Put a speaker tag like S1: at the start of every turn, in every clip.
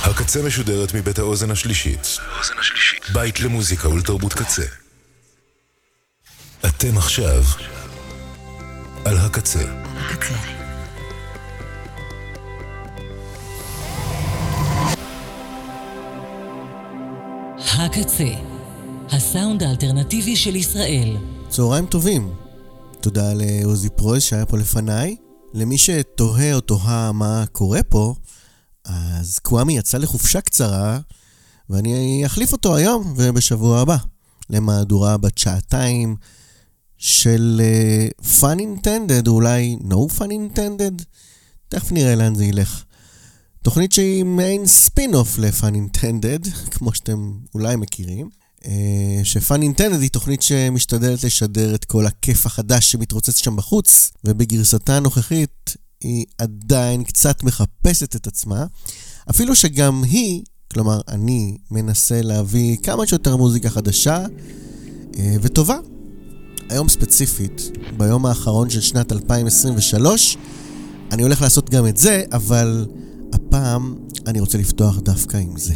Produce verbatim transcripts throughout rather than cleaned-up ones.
S1: הקצה משודרת מבית האוזן השלישית. בית למוזיקה ולתרבות קצה. אתם עכשיו על הקצה. הקצה.
S2: הקצה, הסאונד האלטרנטיבי של ישראל.
S3: צהריים טובים. תודה לעוזי פרויס שהיה פה לפניי. למי שתוהה או תוהה מה קורה פה, אז קוואמי יצא לחופשה קצרה, ואני אחליף אותו היום ובשבוע הבא למהדורה בת שעתיים של uh, Fun Intended, או אולי No Fun Intended. תכף נראה לאן זה ילך. תוכנית שהיא מעין ספין-אוף ל-Fun Intended, כמו שאתם אולי מכירים. Uh, ש-Fun Intended היא תוכנית שמשתדלת לשדר את כל הכיף החדש שמתרוצץ שם בחוץ, ובגרסתה הנוכחית היא עדיין קצת מחפשת את עצמה, אפילו שגם היא, כלומר אני מנסה להביא כמה שיותר מוזיקה חדשה uh, וטובה. היום ספציפית, ביום האחרון של שנת אלפיים עשרים ושלוש, אני הולך לעשות גם את זה, אבל הפעם אני רוצה לפתוח דווקא עם זה.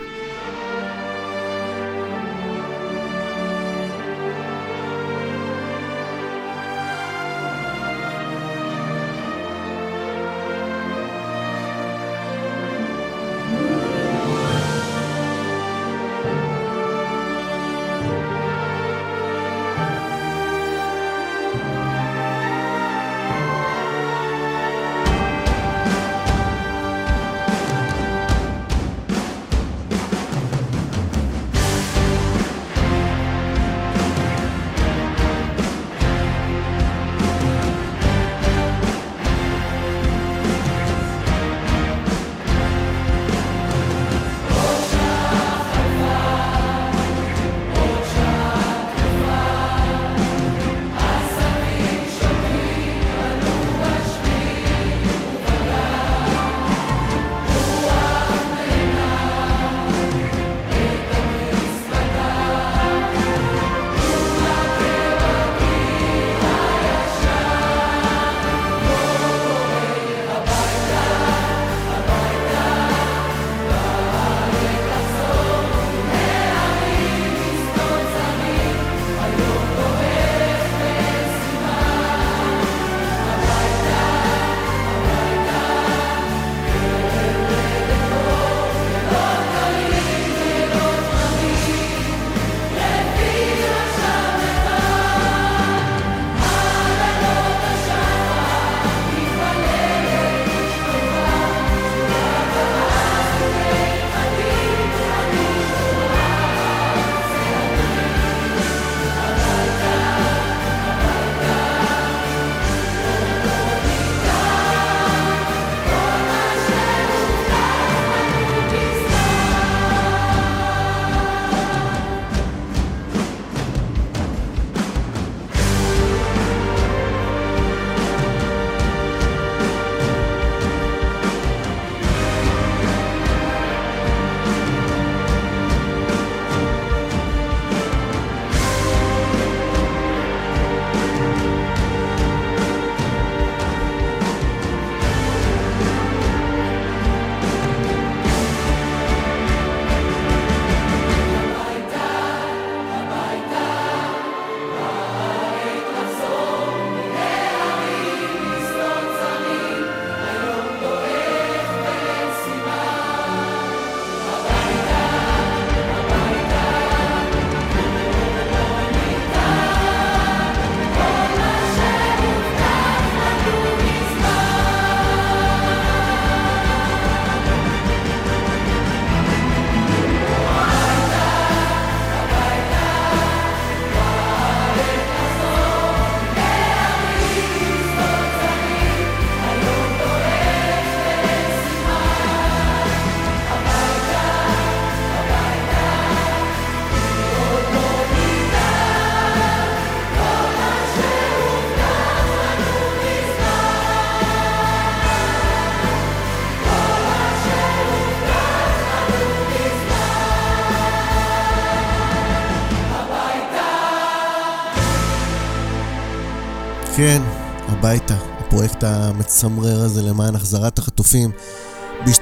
S3: כן, הביתה, הפרויקט המצמרר הזה למען החזרת החטופים, בהשתתפות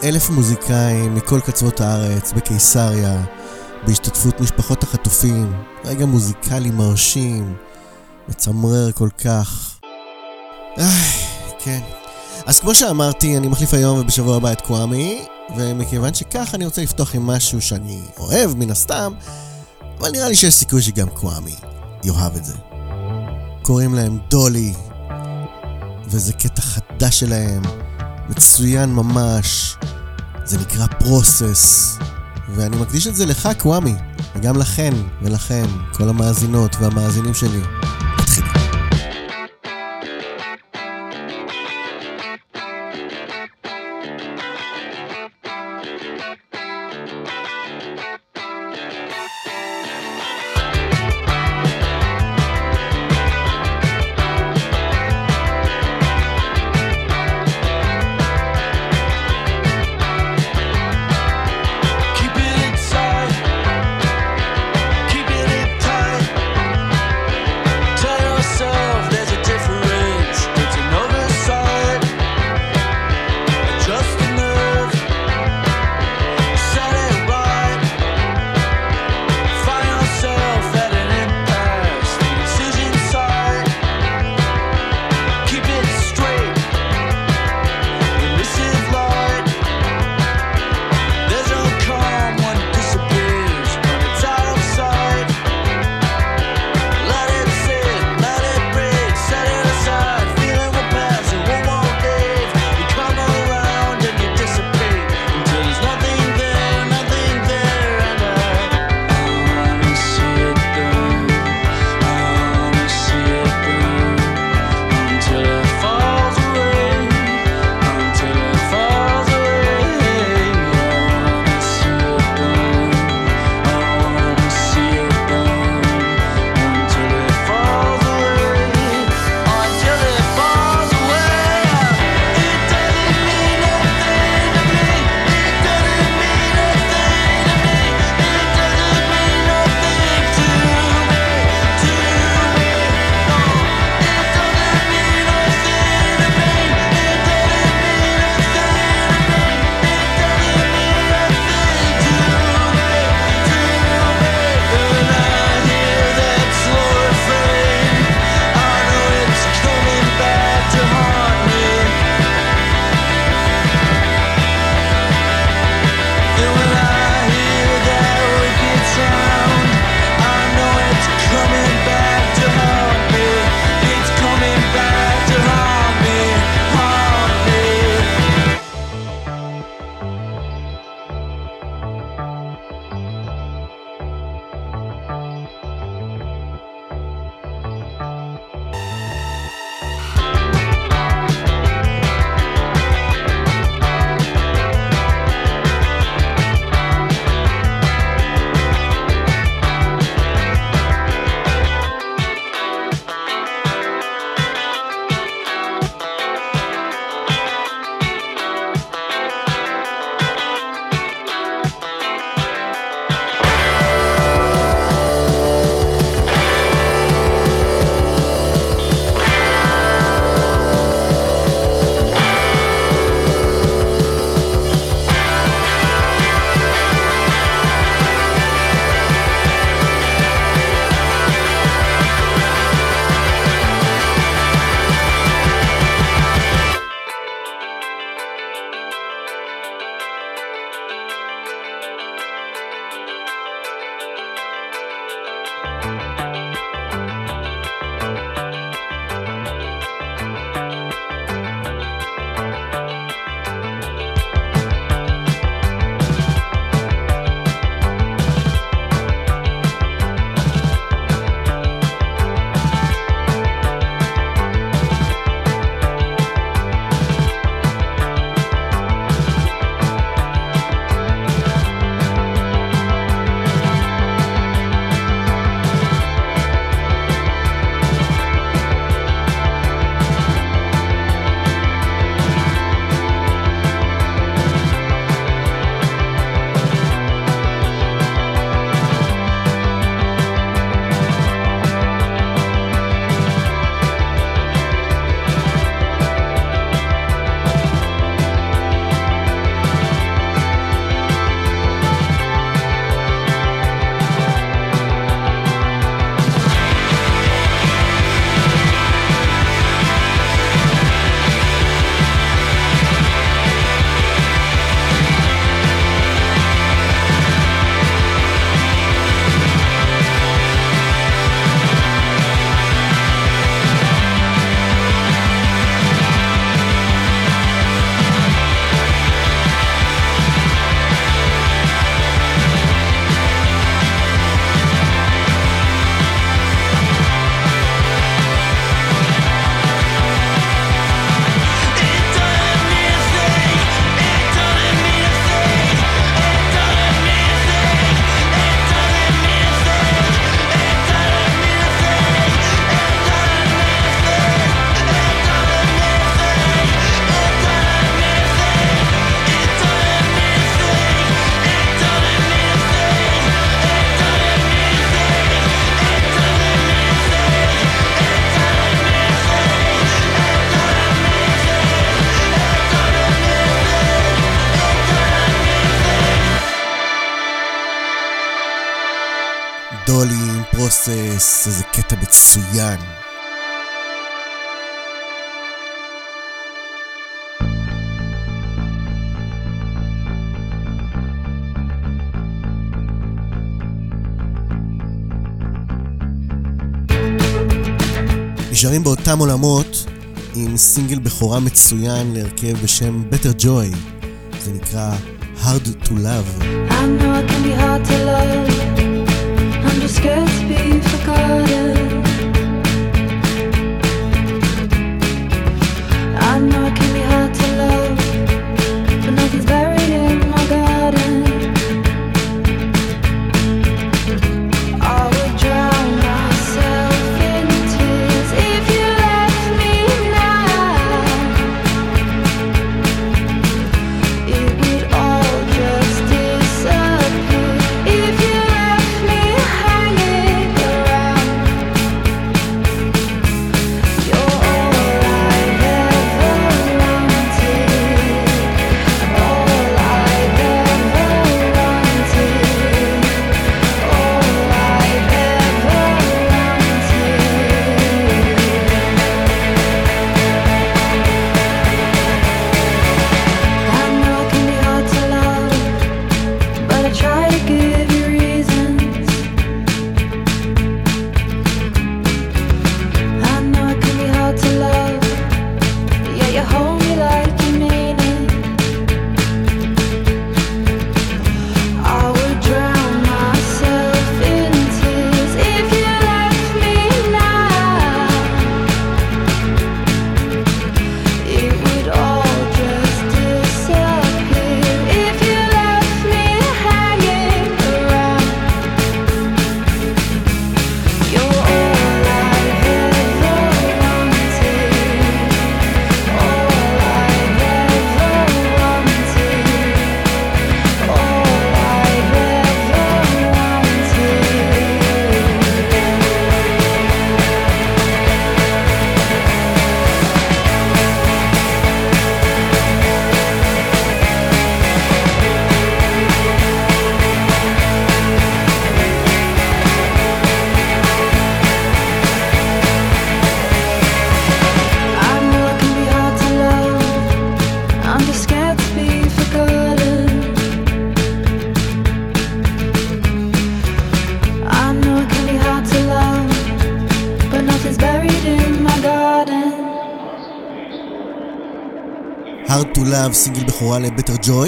S3: אלף מוזיקאים מכל קצוות הארץ בקיסריה, בהשתתפות משפחות החטופים. רגע מוזיקלי מרשים, מצמרר כל כך. איי, כן. אז כמו שאמרתי, אני מחליף היום ובשבוע הבא את קוואמי, ומכיוון שכך אני רוצה לפתוח עם משהו שאני אוהב מן הסתם, אבל נראה לי שיש סיכוי שגם קוואמי יאהב את זה. קוראים להם דולי, וזה קטע חדש שלהם, מצוין ממש. זה נקרא פרוסס, ואני מקדיש את זה לך קוואמי, וגם לכן ולכם, כל המאזינות והמאזינים שלי. נתחיל.
S4: Keep it
S3: דולי עם פרוסס, איזה קטע מצוין. נשארים באותם עולמות עם סינגל בכורה מצוין להרכב בשם Better Joy. זה נקרא Hard to Love.
S4: I know it can be hard to love. I'm just scared to be forgotten. I know it can be hard to love, but nothing's buried in my garden. I would drown myself in tears if you left me now. It would all just disappear if you left me hanging around. You're all I've ever wanted, all I've ever wanted, all I've ever wanted. I know it can be hard to love, but I try to give you reasons. I know it can be hard to love, yeah, you hold me like you mean it. I would drown myself in tears if you left me now. It would all just disappear if you left me hanging around. You're all I've ever wanted, all I've ever wanted, all I've I know it can be hard to love. I'm just scared to be forgotten. I know it can be hard to love, but nothing's buried in my garden.
S3: Hard to Love, סינגל בכורה ל-Better Joy.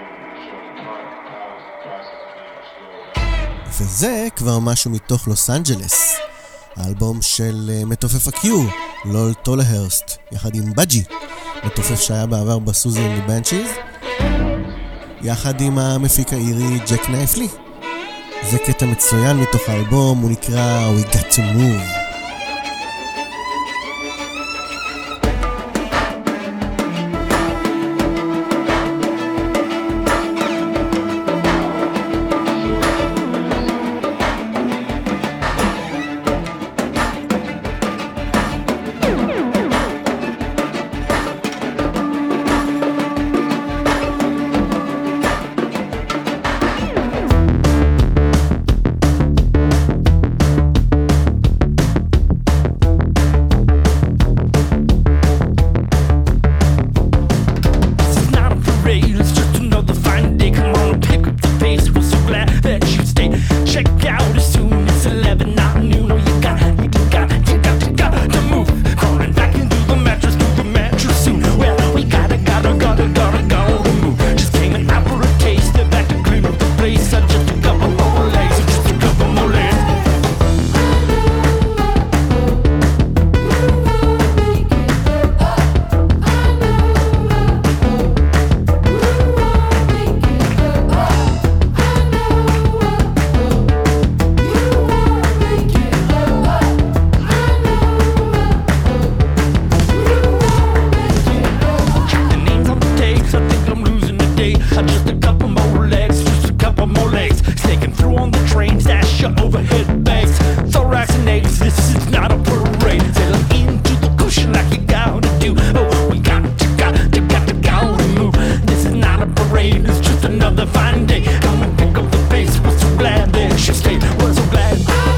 S3: וזה כבר משהו מתוך לוס אנג'לס, האלבום של uh, מתופף ה-Q, לול טולהרסט, יחד עם בג'י, מתופף שהיה בעבר בסוזי אנד בנצ'יז, יחד עם המפיק האירי ג'ק נייפלי. זה קטע מצוין מתוך האלבום, הוא נקרא We Got to Move.
S5: Another fine day, come and pick up the pace. Was so glad that she stayed, was so glad.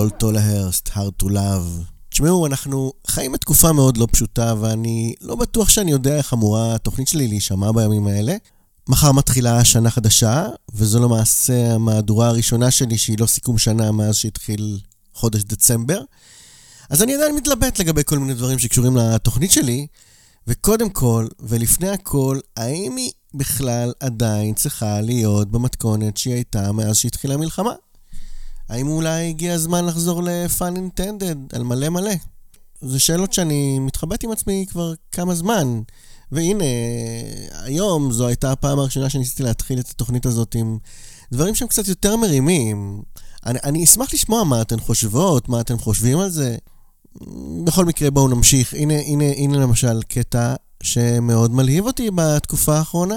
S3: לול טולהרסט, Hard to Love. תשמעו, אנחנו חיים בתקופה מאוד לא פשוטה, ואני לא בטוח שאני יודע איך אמורה התוכנית שלי להישמע בימים האלה. מחר מתחילה שנה חדשה, וזו למעשה המהדורה הראשונה שלי שהיא לא סיכום שנה מאז שהתחיל חודש דצמבר. אז אני עדיין מתלבט לגבי כל מיני דברים שקשורים לתוכנית שלי, וקודם כל, ולפני הכל, האם היא בכלל עדיין צריכה להיות במתכונת שהיא הייתה מאז שהתחילה המלחמה? האם אולי הגיע הזמן לחזור ל-Fun Intended על מלא מלא? זה שאלות שאני מתחבט עם עצמי כבר כמה זמן. והנה, היום זו הייתה הפעם הראשונה שניסיתי להתחיל את התוכנית הזאת עם דברים שהם קצת יותר מרימים. אני, אני אשמח לשמוע מה אתן חושבות, מה אתן חושבים על זה. בכל מקרה בואו נמשיך. הנה, הנה, הנה למשל קטע שמאוד מלהיב אותי בתקופה האחרונה.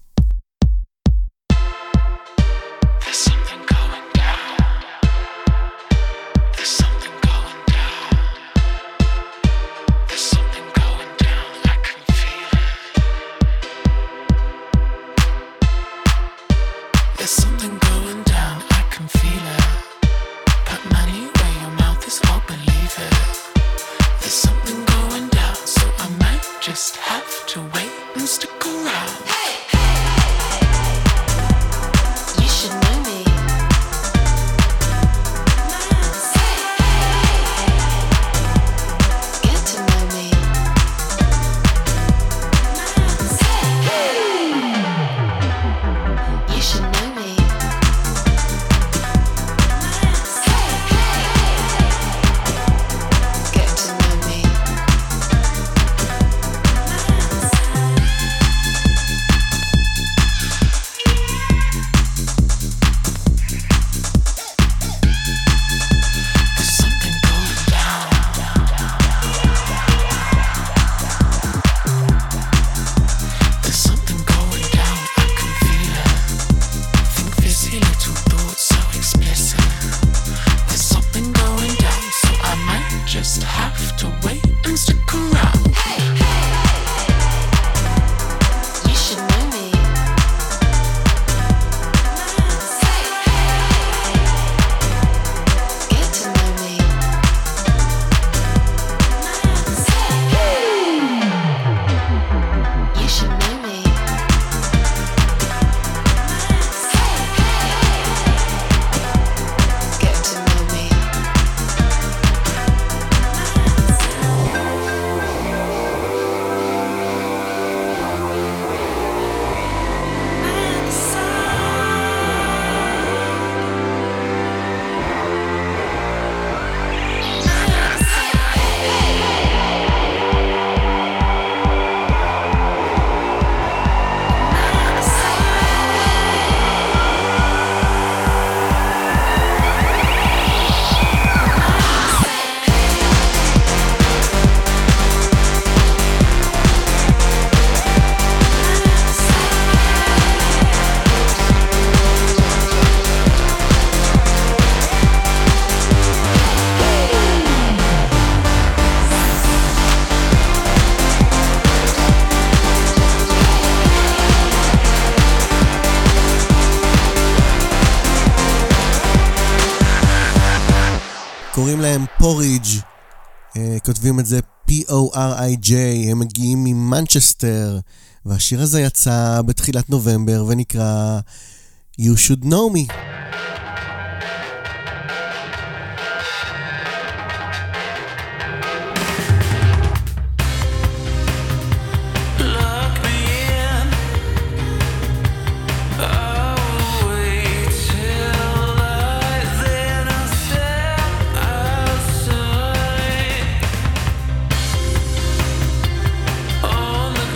S5: Just have to wait and stick around. Hey! You should know me. Get to know me. You should know me. Get to know me.
S3: קוראים להם פוריג', כותבים את זה פי או אר איי ג'יי, הם מגיעים ממנצ'סטר, והשיר הזה יצא בתחילת נובמבר ונקרא You Should Know Me.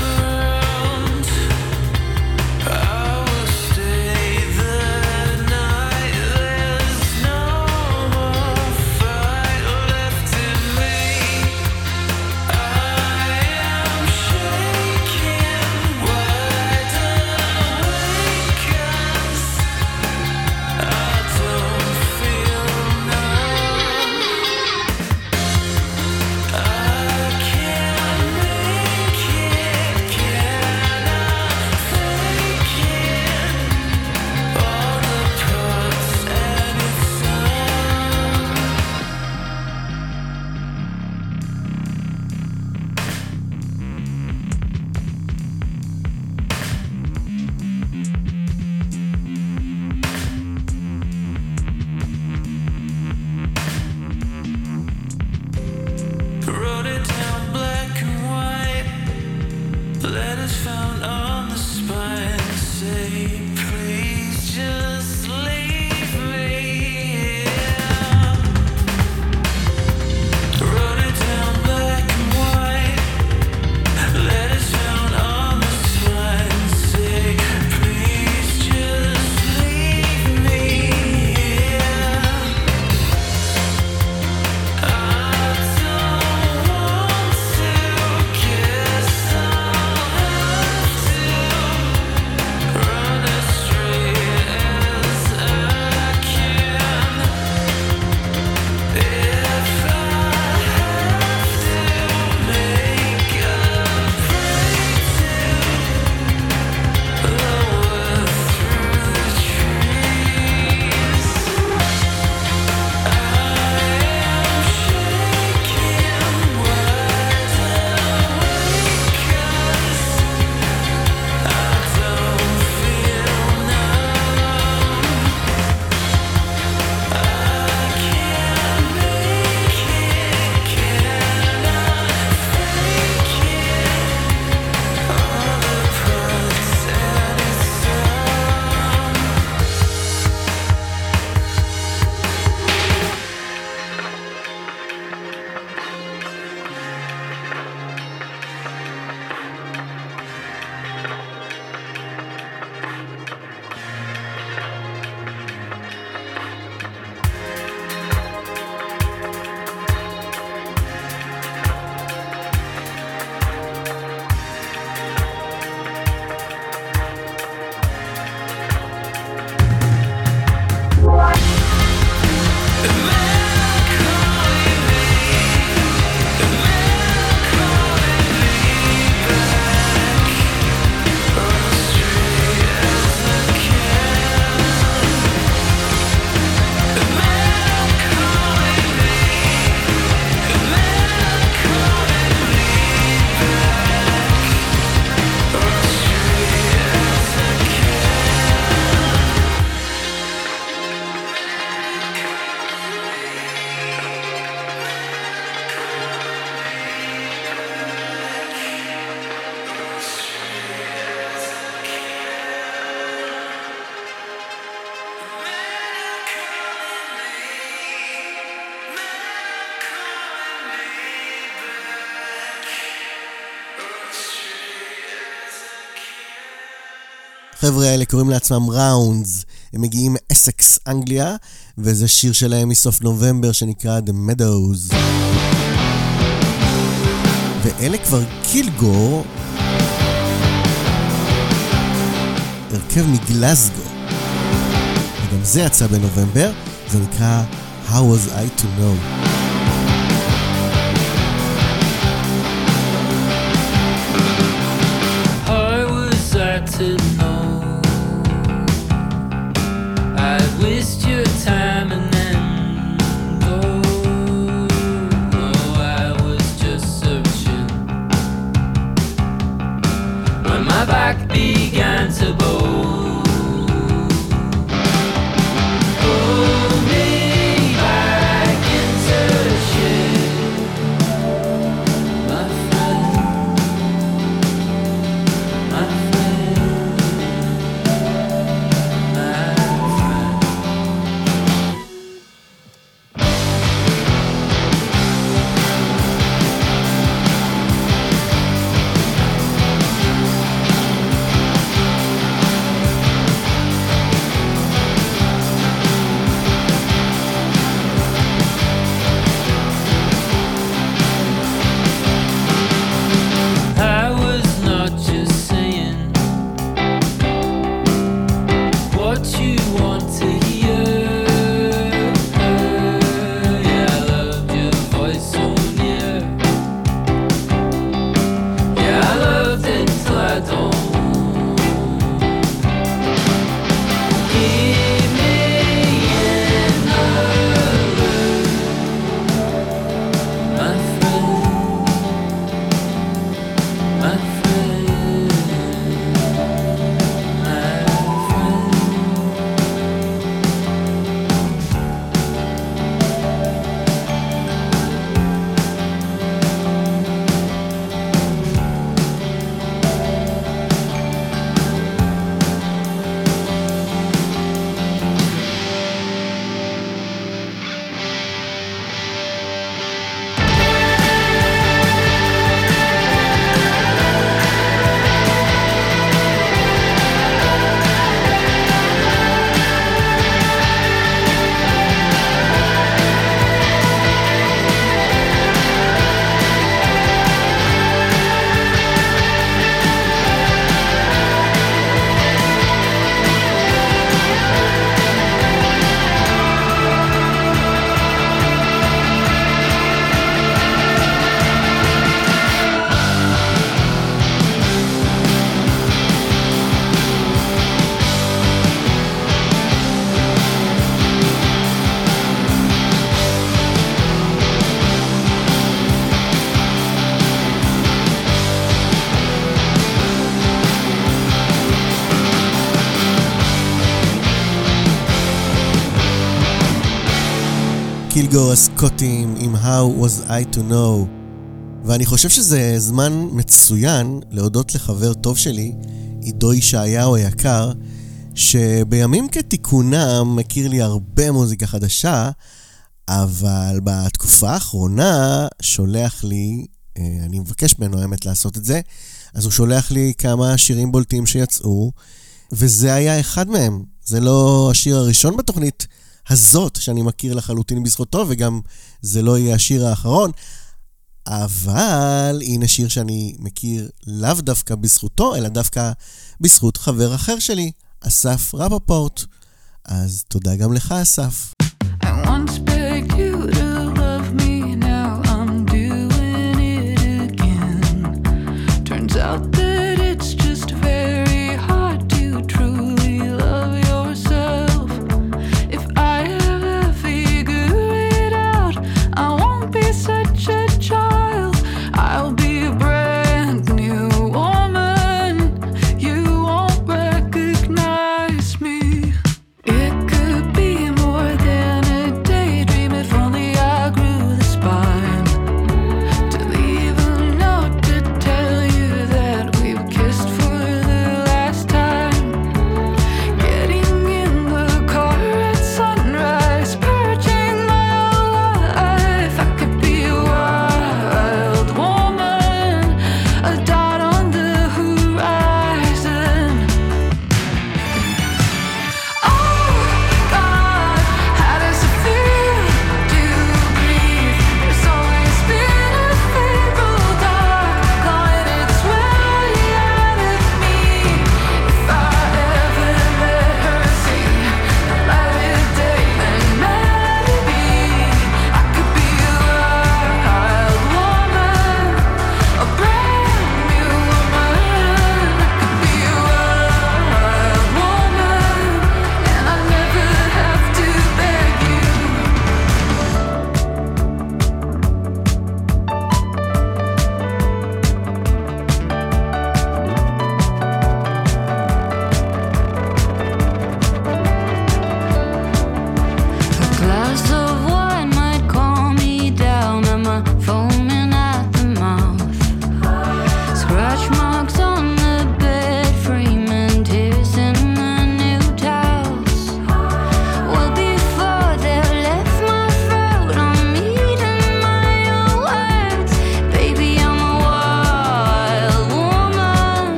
S5: Stay the night.
S3: החבר'ה האלה קוראים לעצמם ראונדס, הם מגיעים מאסקס, אנגליה, וזה שיר שלהם מסוף נובמבר שנקרא The Meadows. ואלה כבר קילגור, הרכב מגלסגו, וגם זה יצא בנובמבר, זה נקרא How Was I To Know.
S6: To know I waste your time and then go. Oh, I was just searching when my back began to bow. Pull me back into the shade, my friend, my friend.
S3: קילגור הסקוטים עם How Was I To Know. ואני חושב שזה זמן מצוין להודות לחבר טוב שלי, עידו ישעיהו היקר, שבימים כתיקונם מכיר לי הרבה מוזיקה חדשה, אבל בתקופה האחרונה שולח לי, אני מבקש ממנו האמת לעשות את זה, אז הוא שולח לי כמה שירים בולטים שיצאו, וזה היה אחד מהם. זה לא השיר הראשון בתוכנית הזאת שאני מכיר לחלוטין בזכותו, וגם זה לא יהיה השיר האחרון, אבל הנה שיר שאני מכיר לאו דווקא בזכותו, אלא דווקא בזכות חבר אחר שלי, אסף רפפורט. אז תודה גם לך, אסף.
S4: I once begged you to love me, now I'm doing it again. Turns out that it's just very hard to truly love yourself. If I ever figure it out, I won't be such a child. I'll be a brand new woman. You won't recognize me. It could be more than a date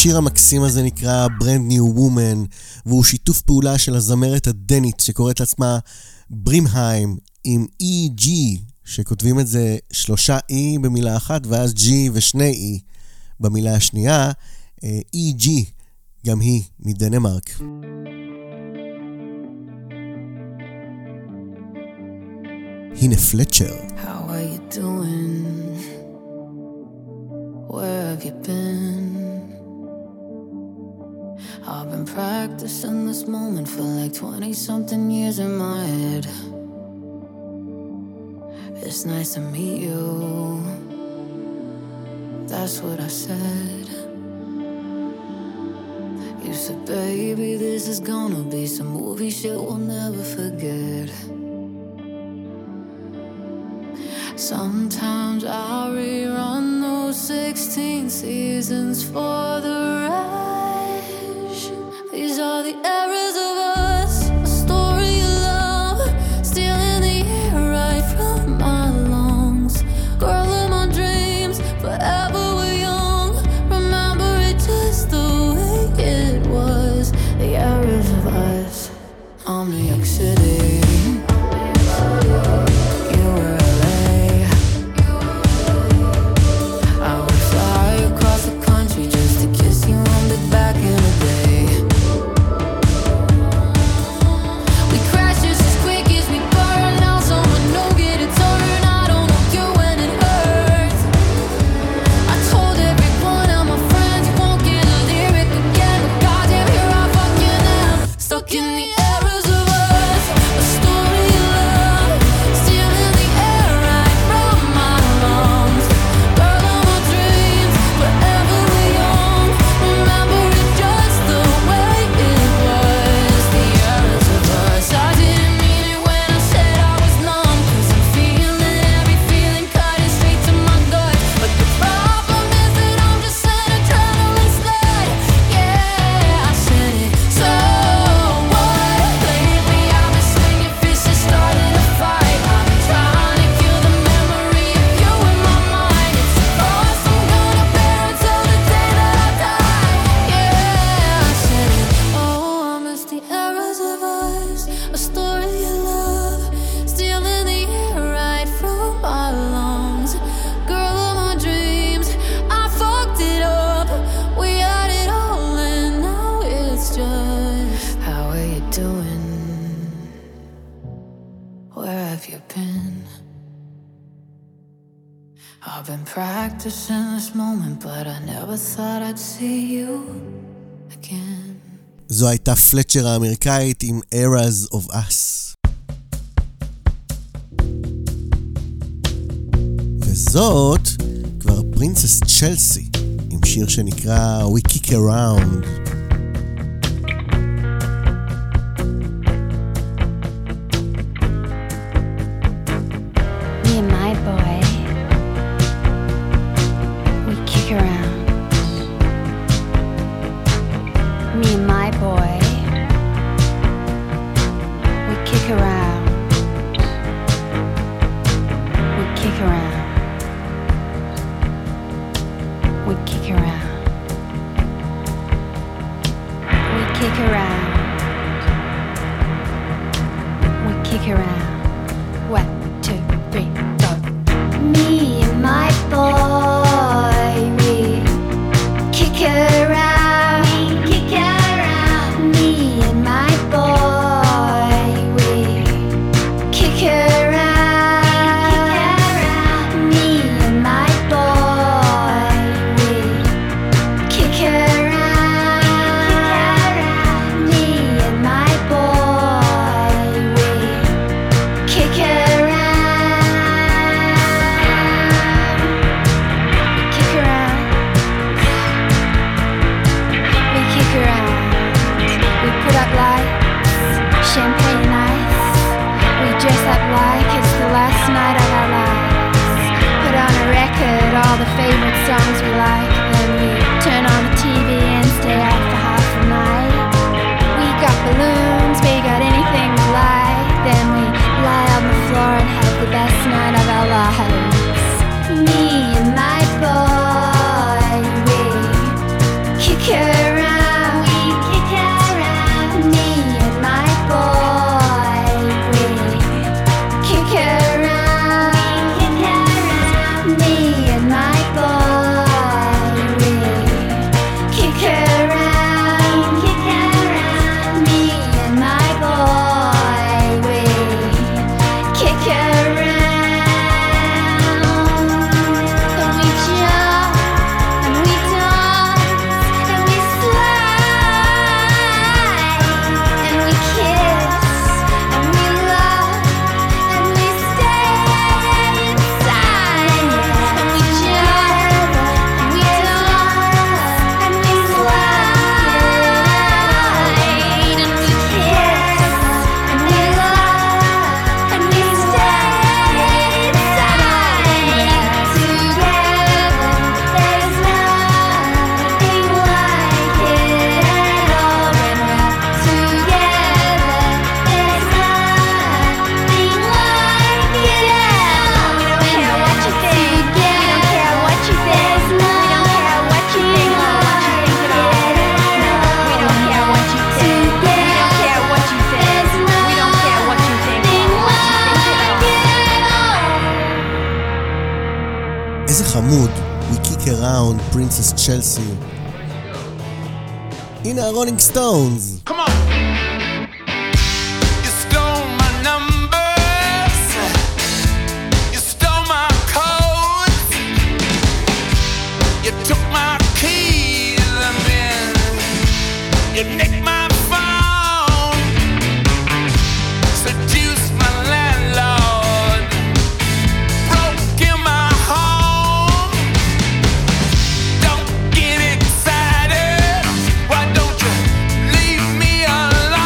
S3: השיר המקסים הזה נקרא Brand New Woman, והוא שיתוף פעולה של הזמרת הדנית שקוראת לעצמה ברימהיים עם אי ג'י, שכותבים את זה שלושה E במילה אחת ואז G ושני E במילה השנייה. אי ג'י, גם היא מדנמרק. הנה פלצ'ר.
S7: How are you doing? Where have you been? I've been practicing this moment for like twenty something years in my head. It's nice to meet you. That's what I said. You said, baby, this is gonna be some movie shit we'll never forget. Sometimes I rerun those sixteen seasons for the rush. These are the eras of us, a story of love, stealing the air right from my lungs. Girl of my dreams, forever we're young. Remember it just the way it was. The eras of us. I'm New York City. Practicing this moment, but I never thought I'd see you again.
S3: זו הייתה פלצ'ר האמריקאית עם Eras of Us. וזאת כבר פרינסס צ'לסי עם שיר שנקרא We Kick Around.
S8: Me and my boy, around. Me and my boy, we kick around. We kick around. We kick around. We kick around. We kick around. One, two, three, go. Me and my boy, kick around, we kick around. Me and my boy, we kick around. Me and my boy, we kick around. Me and my boy, we kick around. We kick around. We put up lights, champagne and ice. We dress up like it's the last night of our lives. Put on a record, all the favorite songs we like. Then we turn on the T V and stay out for half a night. We got balloons, we got anything we like. Then we lie on the floor and have the best night of our lives. Me and my boy, we kick it.
S3: חמוד, We Kick Around, Princess Chelsea. הנה הרולינג סטונס.
S5: Come on. You stole my numbers. You stole my codes. You took my keys and then you nicked my phone. Seduced my landlord. Broke in my home. Don't get excited. Why don't you leave me alone?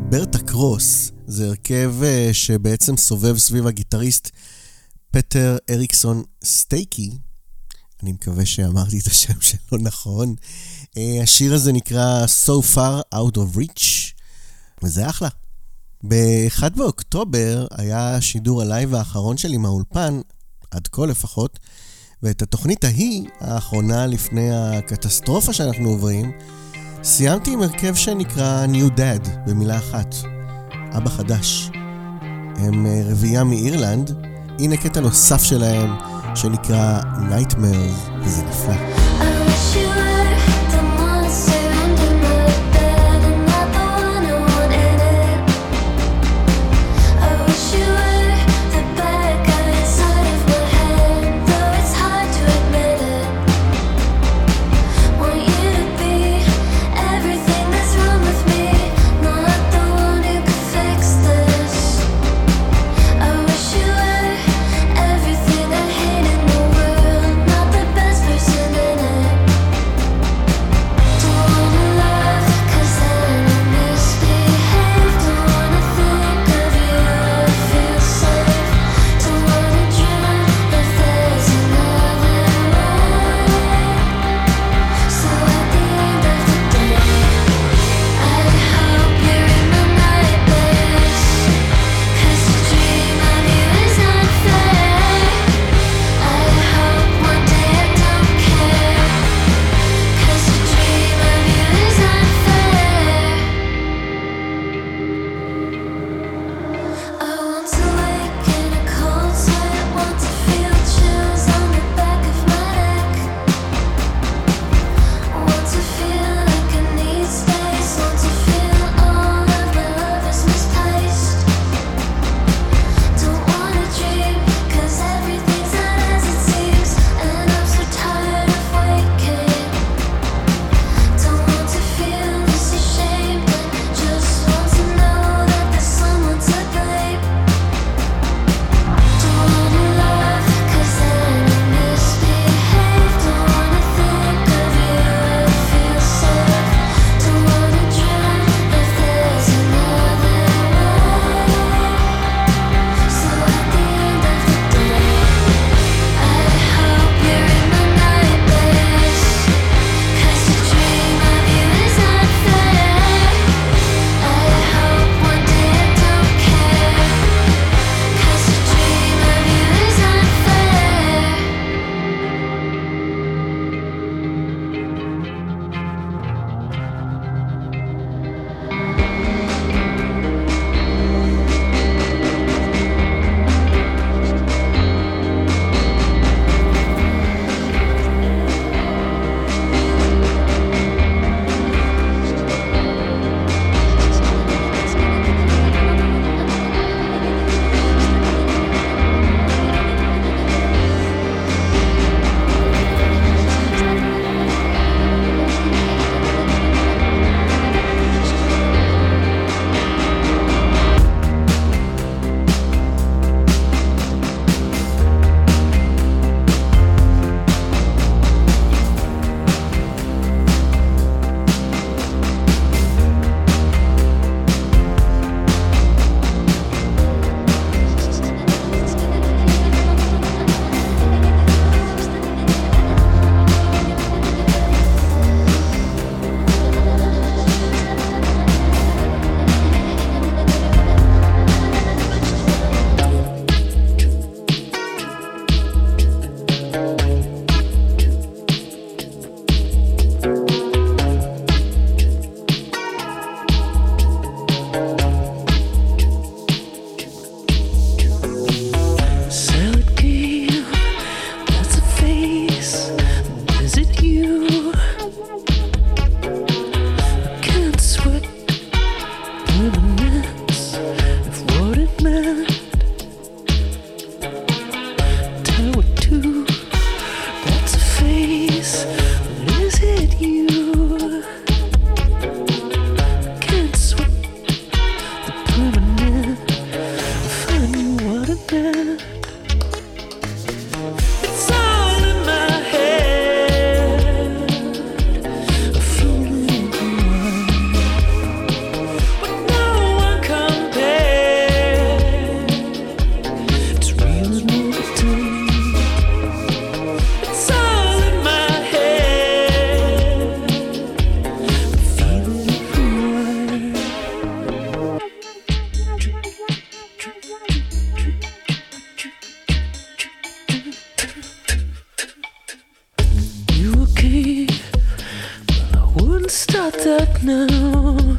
S3: ברטה קרוס. זה הרכב שבעצם סובב סביב הגיטריסט פטר אריקסון סטייקי. אני מקווה שאמרתי את השם שלו נכון. השיר הזה נקרא So Far Out of Reach, וזה אחלה. ב-אחד באוקטובר היה שידור הלייב האחרון שלי מהאולפן, עד כה לפחות, ואת התוכנית ההיא, האחרונה לפני הקטסטרופה שאנחנו עוברים, סיימתי עם הרכב שנקרא New Dad, במילה אחת, אבא חדש. הם רביעייה מאירלנד, הנה קטע נוסף שלהם שנקרא Nightmares, וזה נפלא.
S7: I wish you were the monster under my bed and not the one who wanted it. I wish you were the bad guy inside of my head, though it's hard to admit it. Want you to be everything that's wrong with me, not the one who could fix this. I wish you were everything I hate in the world, not the best person in it.
S5: now.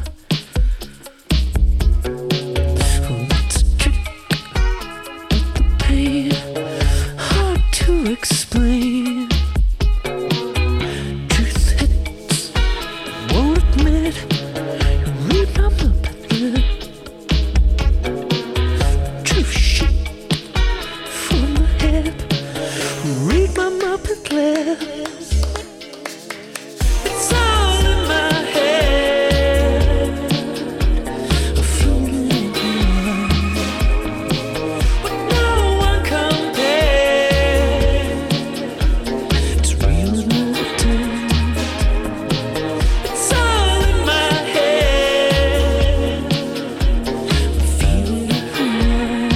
S5: Oh, it's a trick of the pain, hard to explain. Truth hits, won't admit, you read my Muppet lip. Truth shit from the hip, read my Muppet lips. It's all in my head, a floating in the line, with no one compared. It's real and relative. It's all in my head, I feel it everywhere.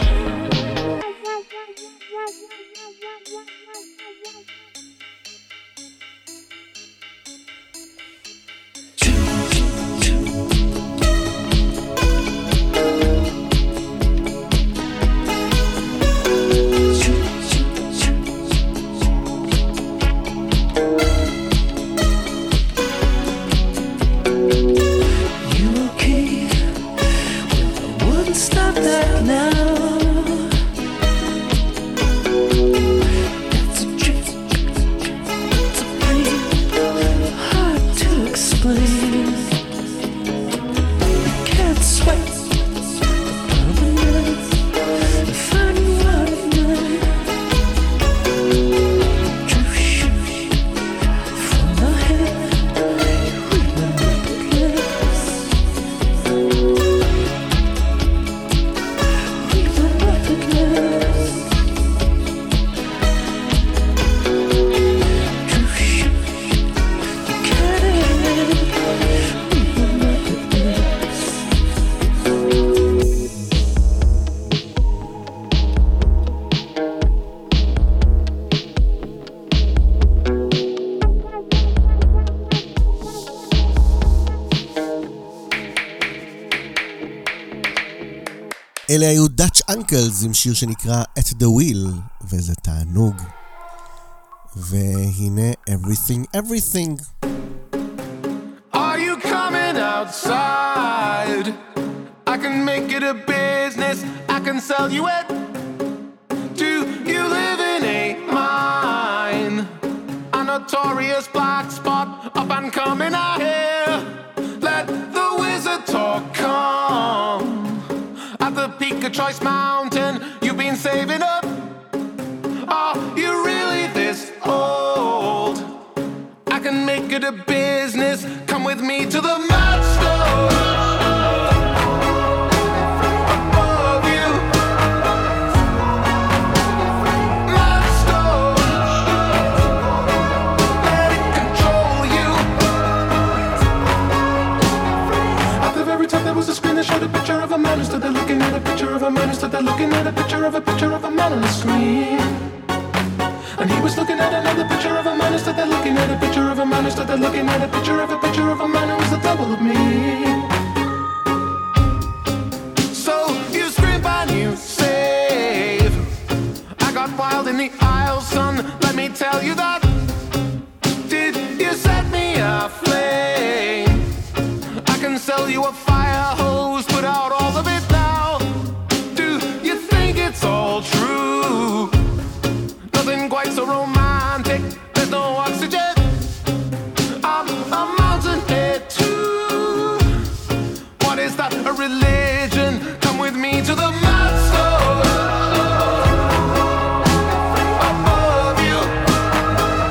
S5: You okay? Well, I wouldn't stop that now. That's a trick, it's a pain, hard to explain. Can't sweat permanent, find you out at night. True shit from the head, read my Muppet lips. Read my Muppet lips. True shit, you can't end it. Read my Muppet lips.
S3: אלה היו Dutch Uncles עם שיר שנקרא At the Wheel, וזה תענוג. והנה Everything Everything.
S9: Are you coming outside? I can make it a business, I can sell you it. Do you live in a mine? A notorious black spot, up and coming out here. Let the wizard talk come. At the peak of Choice Mountain, you've been saving up. Are you really this old? I can make it a business, come with me to the mad stone. Above you, mad stone. Let it control you. At the very top there was a screen that showed a picture of a man who stood there looking at a picture of a man who stood there looking at a picture of a picture of a man on the screen. And he was looking at another picture of a man who stood there looking at a picture of a man who stood there looking at a picture of a picture of a man who was the double of me. So you scream and you save. I got wild in the aisle, son, let me tell you that. Did you set me aflame? I can sell you a fire hose, put out all of it now. Do you think it's all true? Nothing quite so romantic, there's no oxygen. I'm a mountainhead too. What is that, a religion? Come with me to the mad stone. Above you,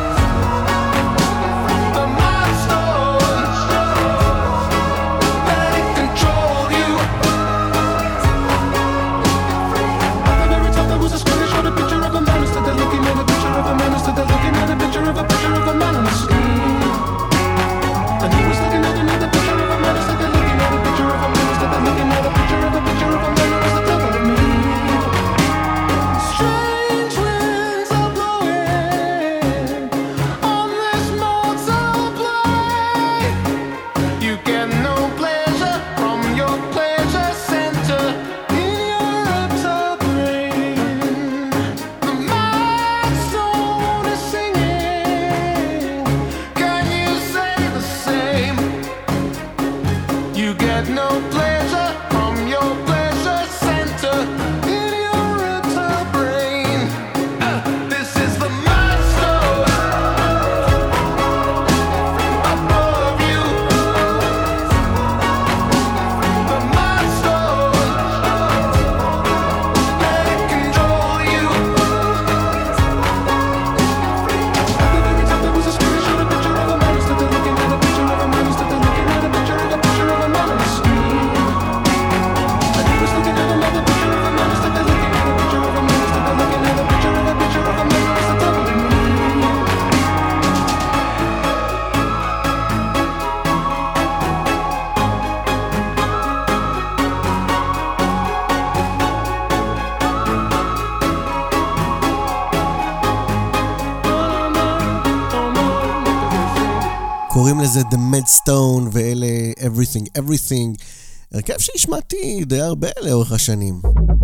S3: לזה The Madstone ואלה Everything Everything, הרכב שהשמעתי די הרבה לאורך השנים.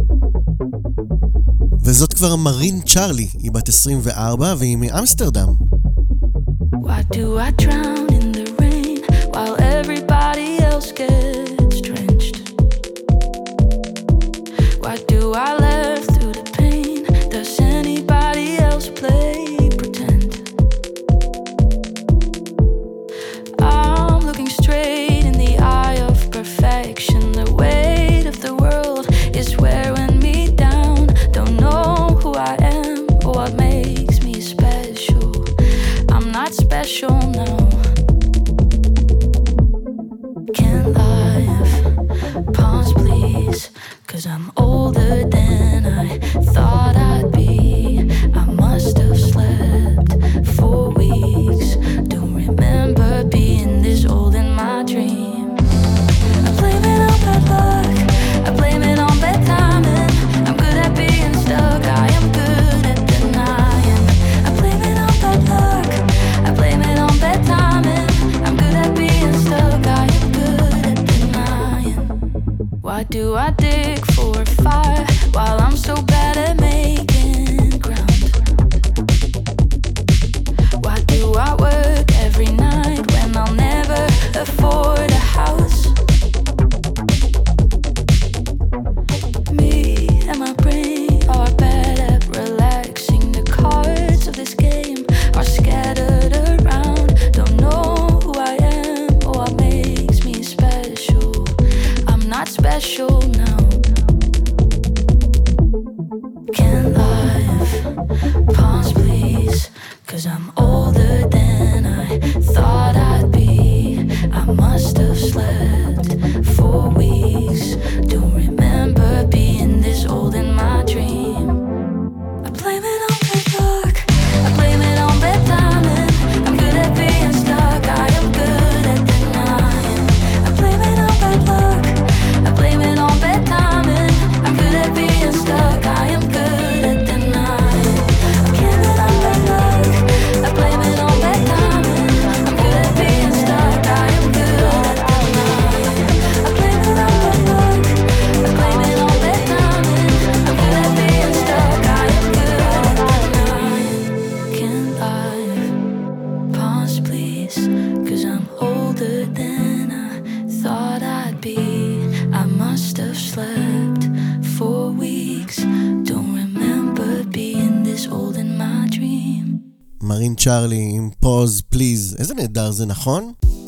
S3: וזאת כבר מרין צ'רלי, היא בת עשרים וארבע והיא מאמסטרדם.
S7: Why do I drown in the rain while everybody else gets drenched? Why do I laugh through the pain? Does anybody else play pretend? I'm looking straight in the eye of perfection. The weight of the world is wearing me down. Don't know who I am or what makes me special. I'm not special now. Can life pause please? Cause I'm older than I thought I'd be. I must have slept for weeks. Don't remember being this old in my dream. I blame it on bad luck. I blame it on bad timing. I'm good at being stuck. I am good at denying. I blame it on bad luck. I blame it on bad timing. I'm good at being stuck. I am good at denying. Why do I dig for fire while I'm so bad at making ground? Why do I work every night when I'll never afford a house? Me and my brain are bad at relaxing. The cards of this game are scattered around. Don't know who I am or what makes me special. I'm not special now. Can life pause please? Cause I'm older than I thought I'd be. I must have slept for weeks. Don't remember being this old in my dream. I blame it on bad luck. I blame it on bad timing. I'm good at being stuck. I am good at denying. I blame it on bad luck. I blame it on bad timing. I'm good at being stuck. I am good at denying. I blame it on bad luck. I blame it on bad timing. I'm good at being stuck. I am good at denying. I blame it on bad luck. I blame it on bad timing. I'm good at being stuck. I am good at denying. Can life pause please? Cause I'm older than I thought I'd be. I must have slept for weeks. Don't remember being this old in my dream.
S3: מרין צ'רלי עם פוז פליז, איזה נהדר זה, נכון?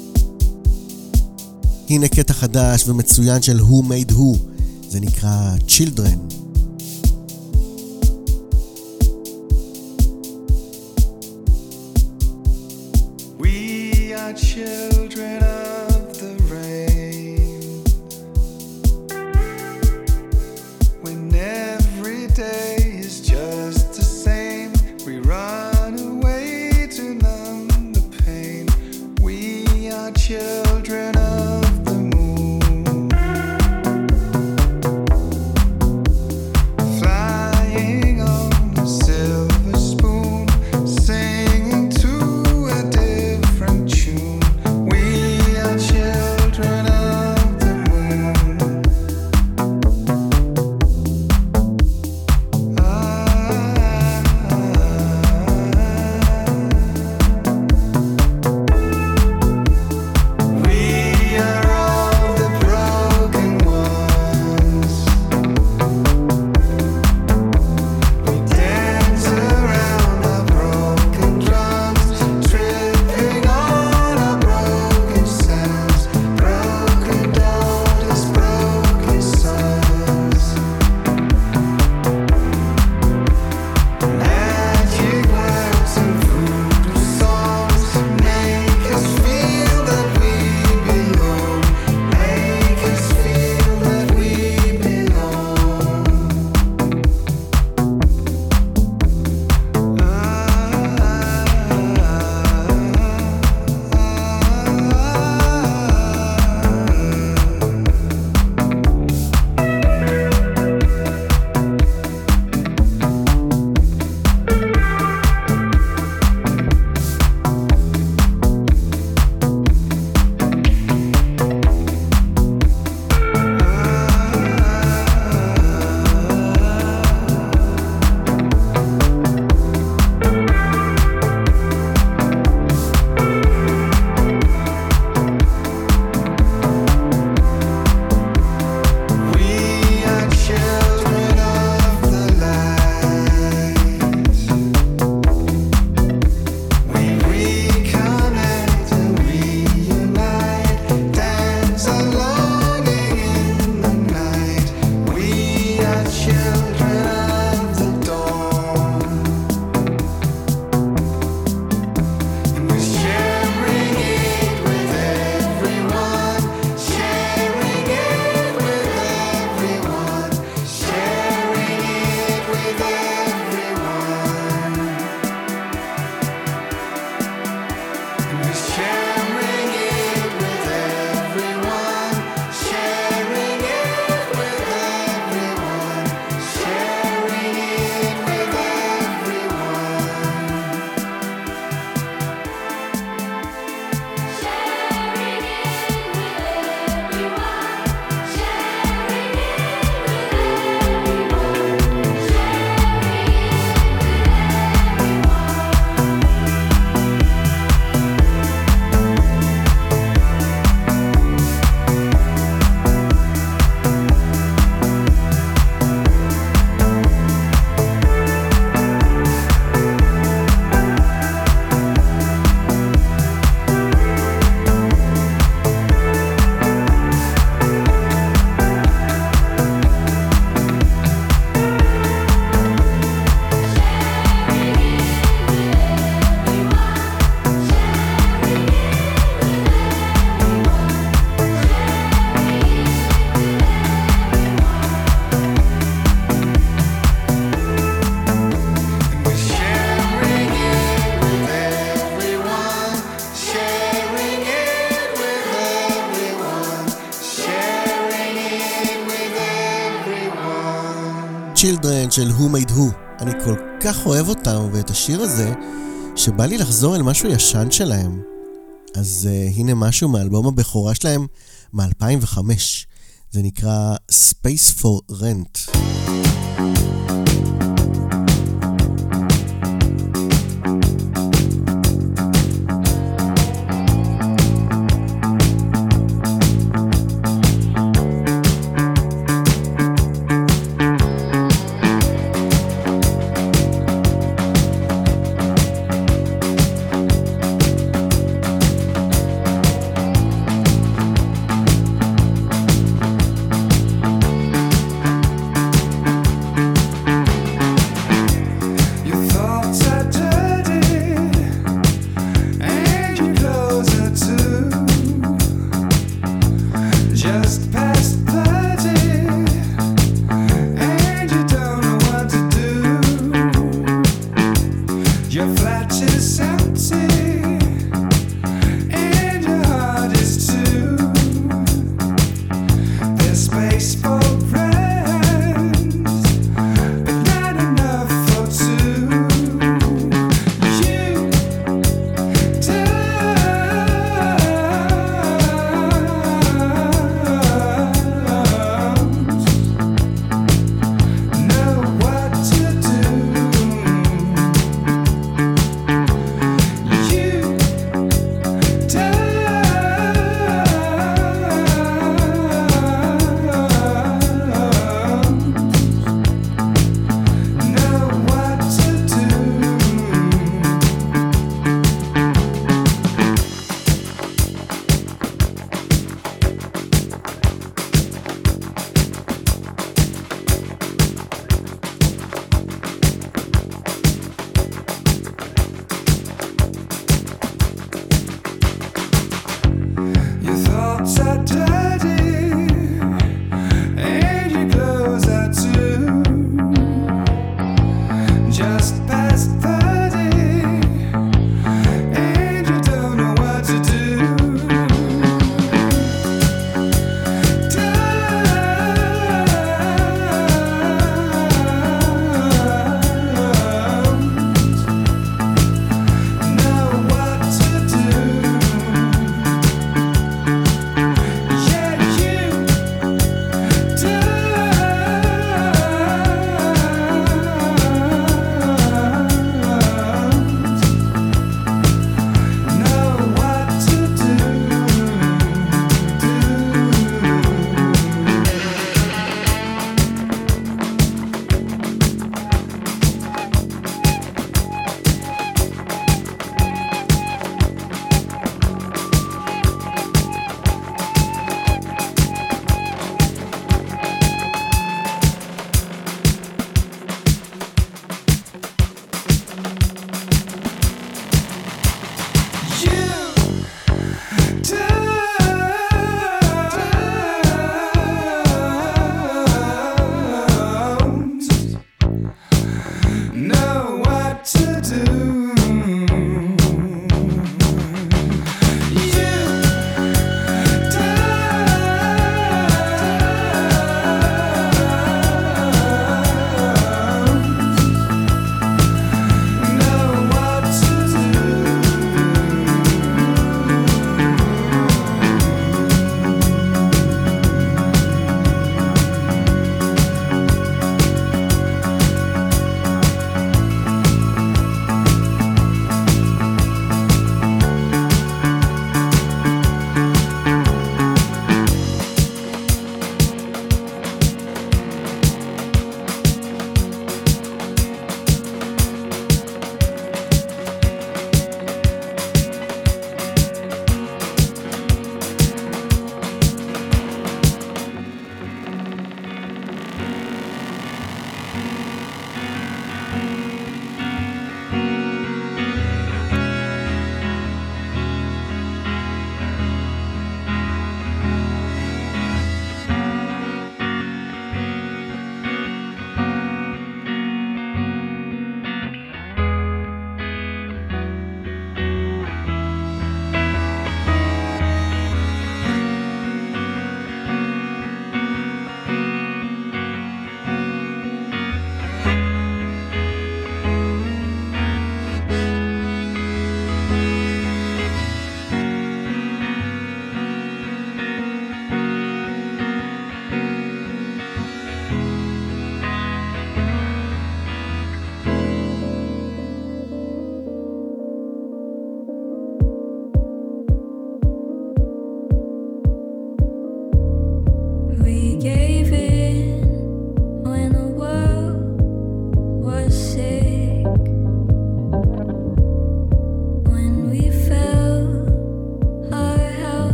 S3: הנה קטע חדש ומצוין של Who Made Who, זה נקרא Children.
S10: We are children of the rain. When every day is just the same, we run away to numb the pain. We are children of the moon.
S3: Children של Who Made Who. אני כל כך אוהב אותם ואת השיר הזה, שבא לי לחזור אל משהו ישן שלהם. אז uh, הנה משהו מאלבום הבכורה שלהם מ-אלפיים וחמש. זה נקרא Space for Rent.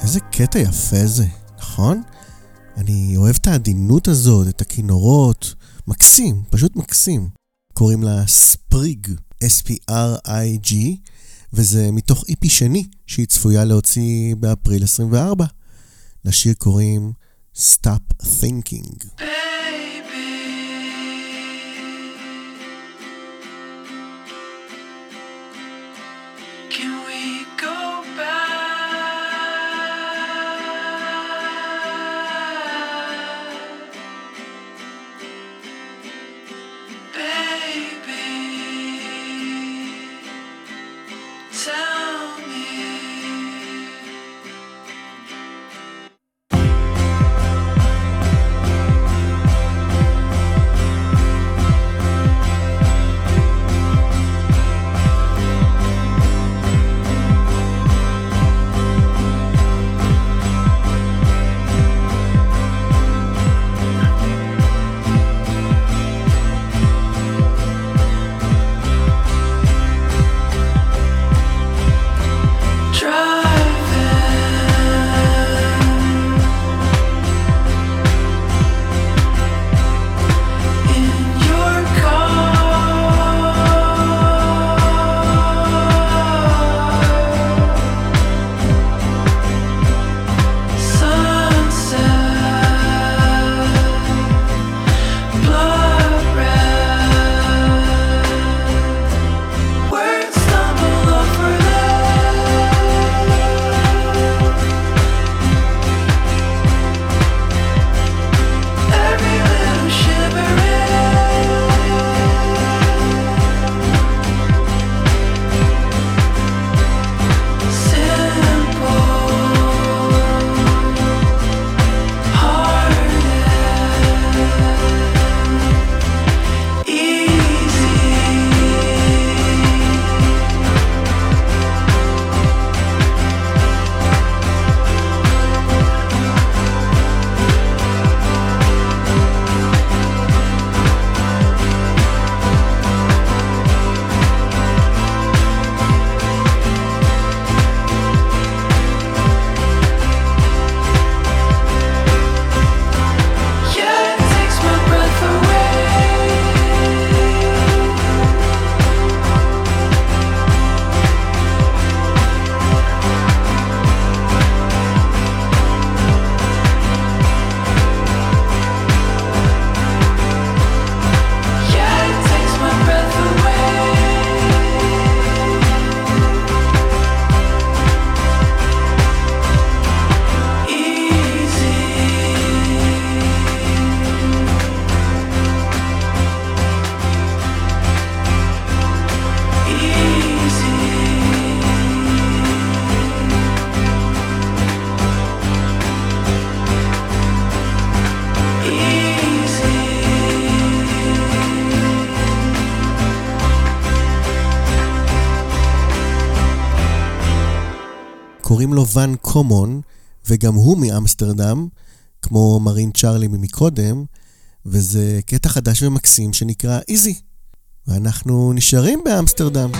S3: איזה קטע יפה זה, נכון? אני אוהב את העדינות הזאת, את הכינורות. מקסים, פשוט מקסים. קוראים לה ספריג, אס פי אר איי ג'י, וזה מתוך איפי שני שהיא צפויה להוציא באפריל עשרים וארבע. לשיר קוראים Stop Thinking. קוראים לו ון קומון, וגם הוא מאמסטרדם, כמו מרין צ'רלי ממקודם, וזה קטע חדש ומקסים שנקרא איזי. ואנחנו נשארים באמסטרדם.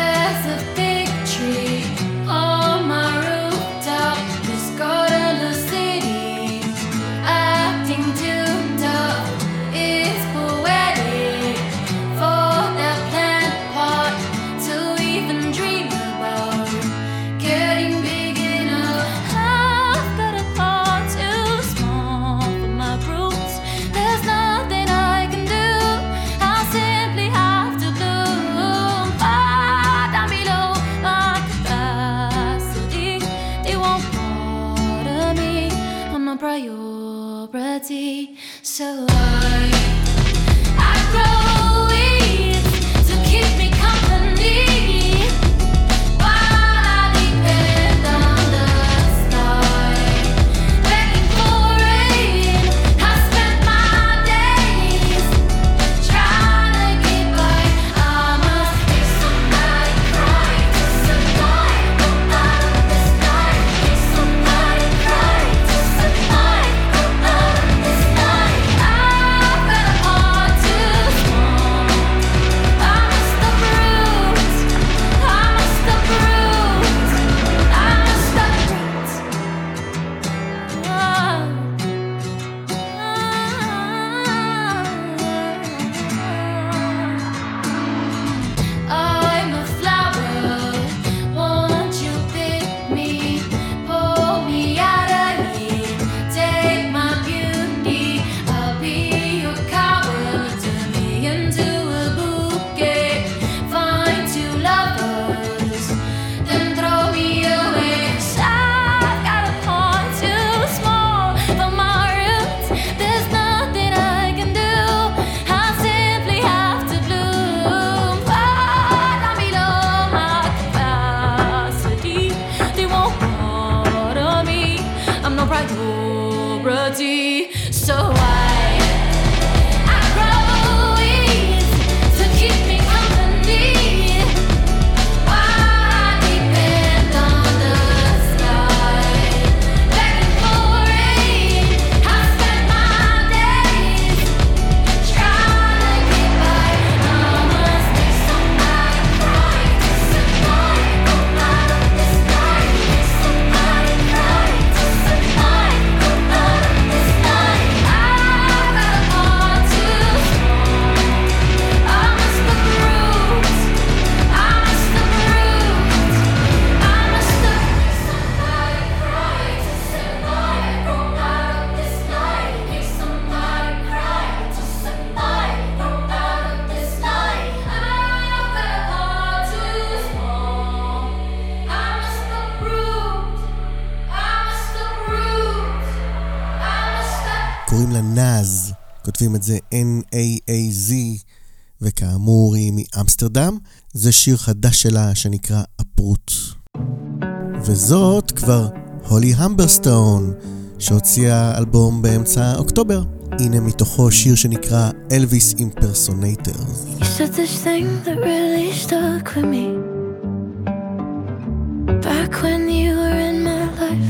S7: So I, I grow weeds to keep me company while I depend on the sky, begging for rain. I spent my days trying to get by. I must make somebody cry to survive. Go out of this night, make somebody cry to survive. Go out of this night. I priority. So I, I grow weeds to keep me company. I depend on the sky, begging for rain. I spend my days trying to get by. I must be somebody crying to somebody. Come out of this night. Somebody crying to somebody. Come out of this night. I got a heart too strong. I must have bruised. I must have bruised. I must have somebody crying to somebody. Come out of this night. Hear somebody crying to somebody. Come out of this night. I've got a heart too small. I must have bruised. I must have bruised. I must have
S3: קוראים לה נאז, כותבים את זה N A A Z, וכאמור היא מאמסטרדם. זה שיר חדש שלה שנקרא הפרוט. וזאת כבר הולי המברסטון, שהוציאה אלבום באמצע אוקטובר. הנה מתוכו שיר שנקרא אלוויס אימפרסונטורס.
S8: You said this thing that really stuck with me back when you were in my life.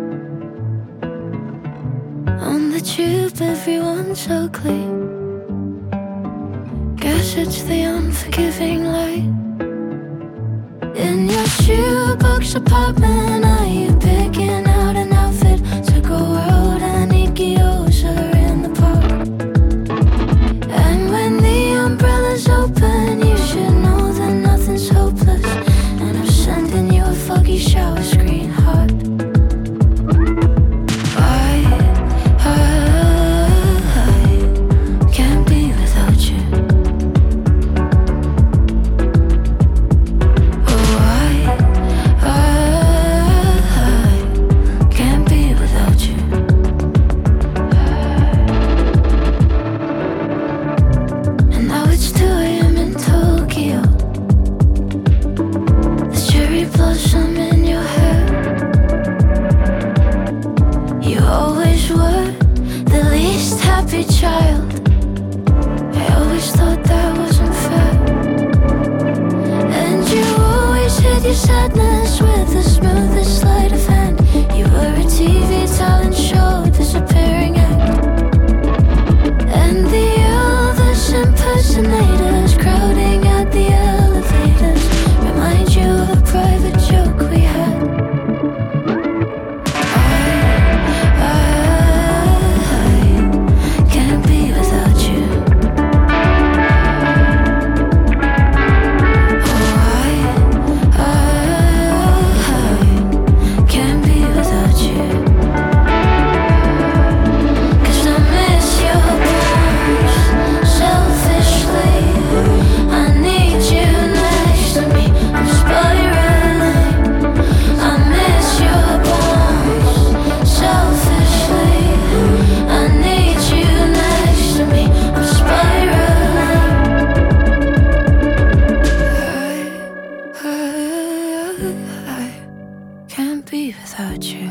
S8: On the tube, everyone's ugly. Guess it's the unforgiving light. In your shoebox apartment, are you picking out an outfit to go out and eat gyoza in the park? And when the umbrella's open, you should know that nothing's hopeless. And I'm sending you a foggy shower screen heart. I, I, I can't be without you. Oh, I, I, I can't be without you. And now it's two a.m. in Tokyo. There's cherry blossom in your hair. You always were the least happy child. I always thought that wasn't fair. And you always hid your sadness with the smoothest sleight of hand. You were a T V talent show disappearing act. And the Elvis impersonators crowding at the elevators remind you of a private joke we had. I, I, I can't be without you. Oh, I, I, I can't be without you. 'Cause I miss your bones selfishly. I need you next to me. I'm spiraling. I miss your bones selfishly. I need you next to me. I'm spiraling. I, I, I can't be without you.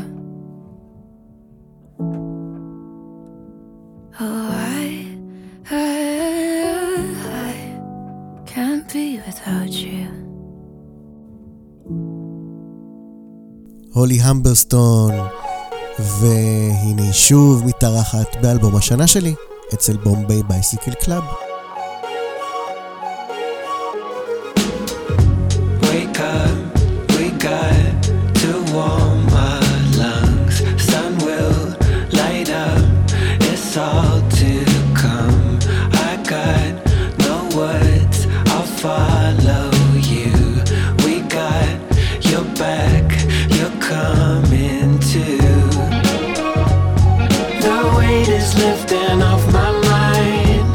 S8: Oh, I, I, I can't be without you.
S3: הולי המברסטון, והנה שוב מתארחת באלבום השנה שלי אצל בומביי בייסיקל קלאב.
S11: Wake up, we got to warm our lungs. Sun will light up, it's all to come. I got no words, I'll follow you. We got your back, you're coming too. The weight is lifting off my mind,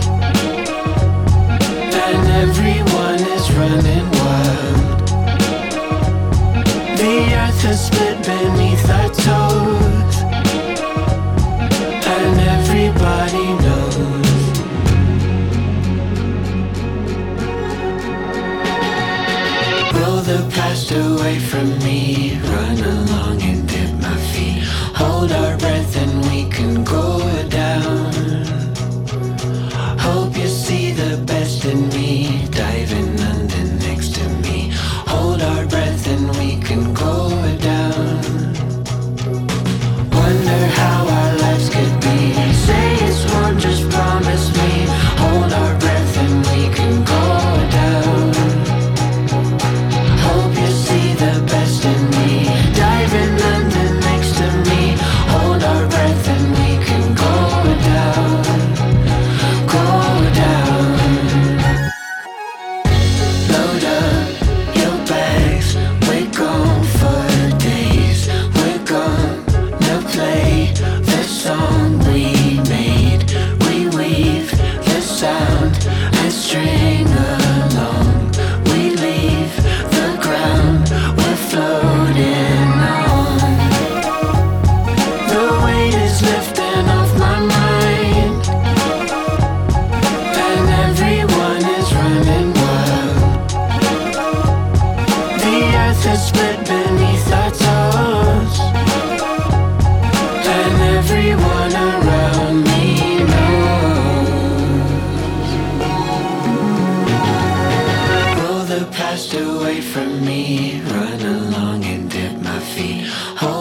S11: and everyone is running wild. The earth has split beneath our toes, and everybody knows. Roll the past away from me, run along and dip my feet. Hold our breath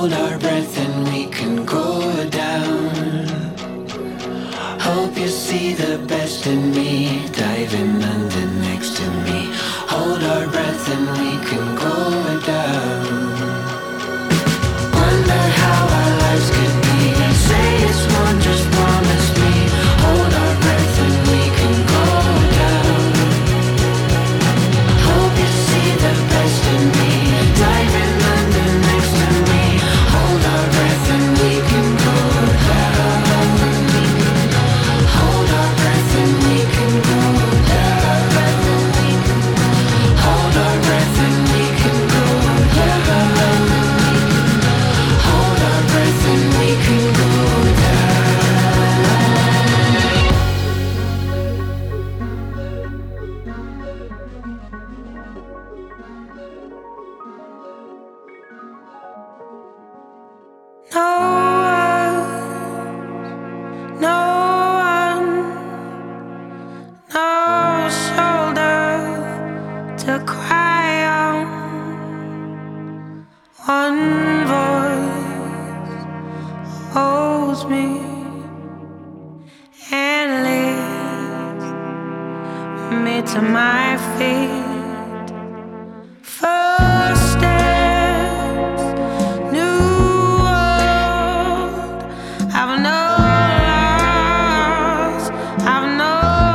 S11: Hold our breath and we can go down. Hope you see the best in me, diving under next to me. Hold our breath and we can go down. Wonder how our lives could be. Say it's one, just promise me. Hold our breath and we can go down. Hope you see the best in me, diving under next to me. Hold our breath and we can go down. Hold our breath and we can go down. Hold our breath and we can go down. Hold our breath and we can go
S5: No one, no one, no shoulder to cry on. One voice holds me and leads me to my feet. First steps, new world. I've no loss, I've no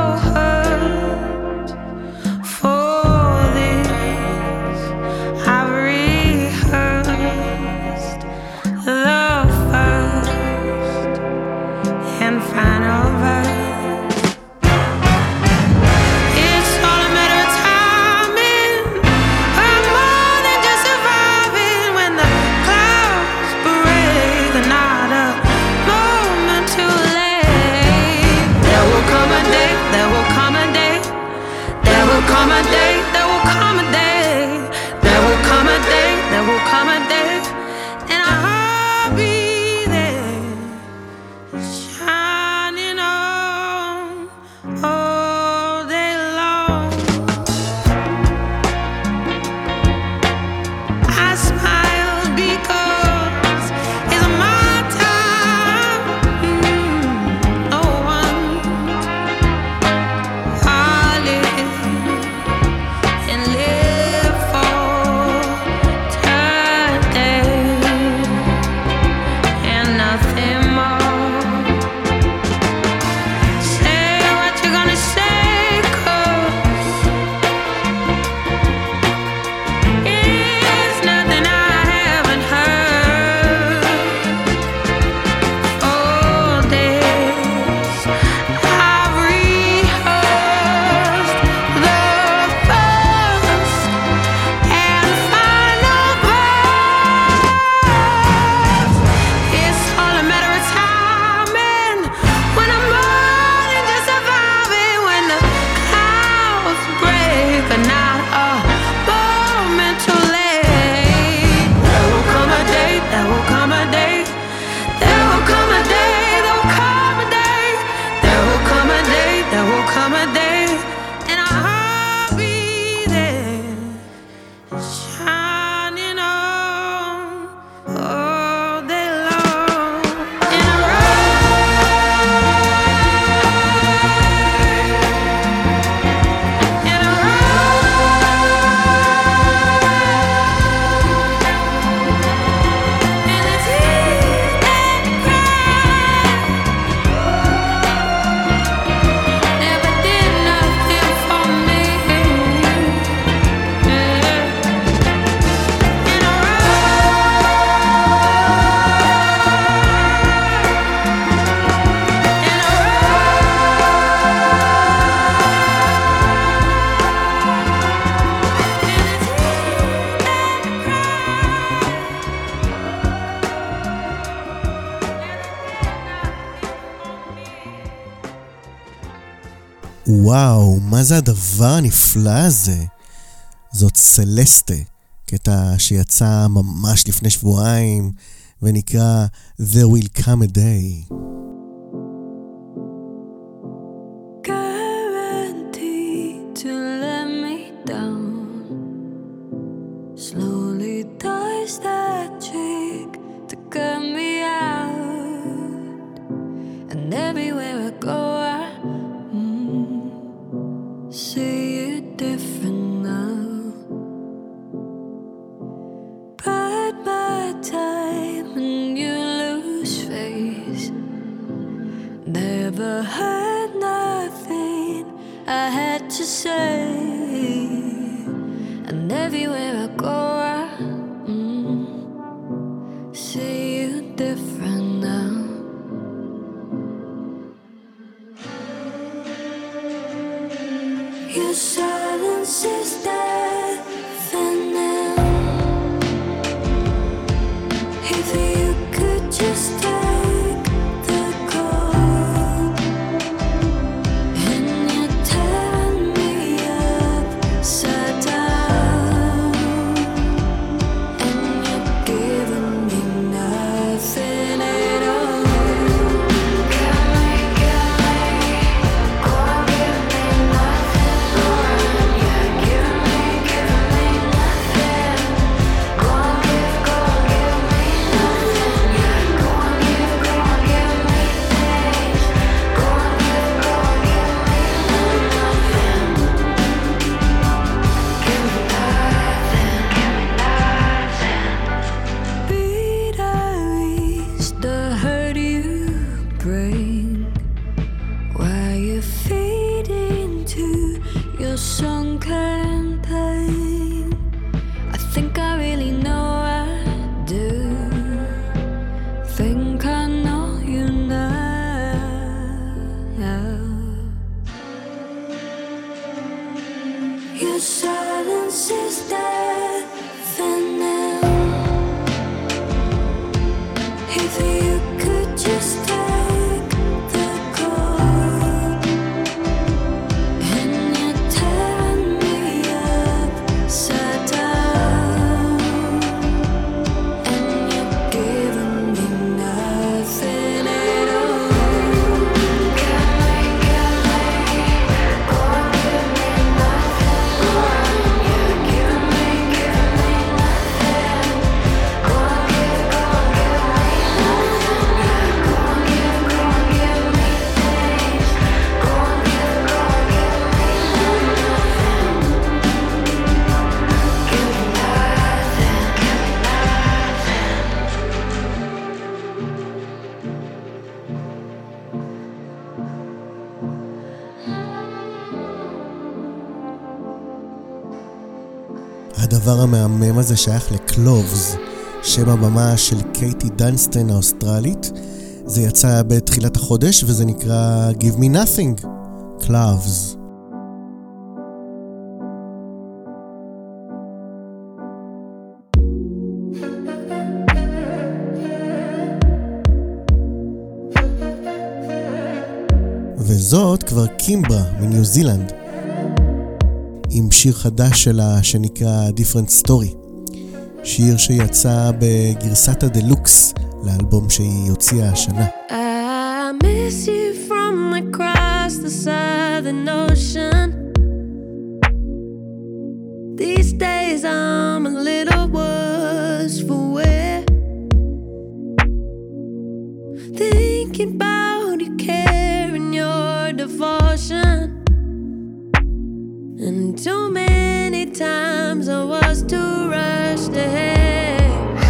S5: hurt. For this, I've rehearsed the first and final verse. It's all a matter of timing. I'm more than just surviving when the clouds break. Not a moment too late. There will come a day, there will come a day. There will come a day, there will come a day. There will come a day, there will come a day. And I'll be there, shining on all day long. I smile because it's my time. Mm, no one. I live and live for today and nothing more. Say what you're gonna say, 'cause it's nothing I haven't heard. All days I've rehearsed the first and final verse. It's all a matter of timing. When I'm more than just surviving, when the clouds break, but not a moment too late. There will come a day, there will come a day. There will come a day, there will come a day. There will come a day, there will come a day. And I'll be there, shining on all day long. In a ride, in a ride. And the tears that cry never did nothing for me. Yeah. In a
S3: וואו, מה זה הדבר הנפלא הזה? זאת סלסטה, קטע שיצא ממש לפני שבועיים ונקרא There Will Come a Day.
S7: Guaranteed to let me down. Slowly dies that trick to say, and everywhere I go I mm, see you different now. Your silence is deafening. If you could just take the call, and you're tearing me upside down, and you're giving me nothing at all. Give me, give me, go on, give me nothing more. Yeah, give me, give me nothing. Go on, give, go on, give me nothing. Yeah, go on, give, go on, give me things. Go on, give, go on, give me nothing. Give me nothing, give me nothing. Beat eyes, the hurt you bring while you feed into your sunken pain. I think I really know I do. Think I know you now. Your silence is deafening. If you could just take the call, and you're tearing me upside down, and you're giving me nothing at all. Give me, give me, go on, give me nothing more. Yeah, give me, give me nothing. Go on, give, go on, give me nothing. Yeah, go on, give, go on, give me things. Go on, give, go on, give me nothing. Give me nothing, give me
S3: הדבר המהמם הזה שייך לקלובס, שם הבמה של קייטי דנסטן האוסטרלית. זה יצא בתחילת החודש וזה נקרא Give Me Nothing, קלובס. וזאת כבר קימברה מניו זילנד, עם שיר חדש שלה שנקרא Different Story. שיר שיצא בגרסת הדלוקס לאלבום שהיא הוציאה השנה.
S7: I miss you from across the southern ocean. These days I'm a little worse for wear. Thinking about your care and your devotion. And too many times I was too rushed ahead.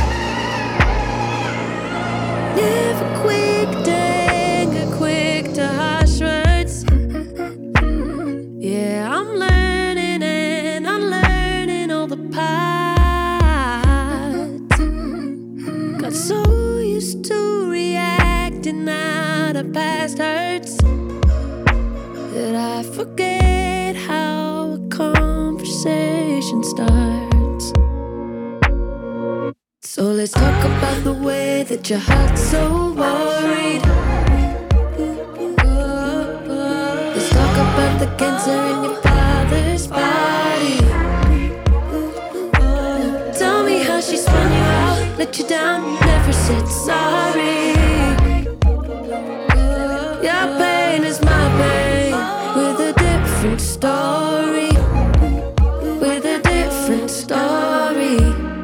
S7: Never quick to anger, quick to harsh words. Yeah, I'm learning and unlearning all the parts. Got so used to reacting out of past hurts that I forget how a conversation starts. So let's talk about the way that your heart's so worried. Let's talk about the cancer in your father's body. Tell me how she spun you out, let you down, never said sorry. Your pain is my pain, with a different story. With a different story.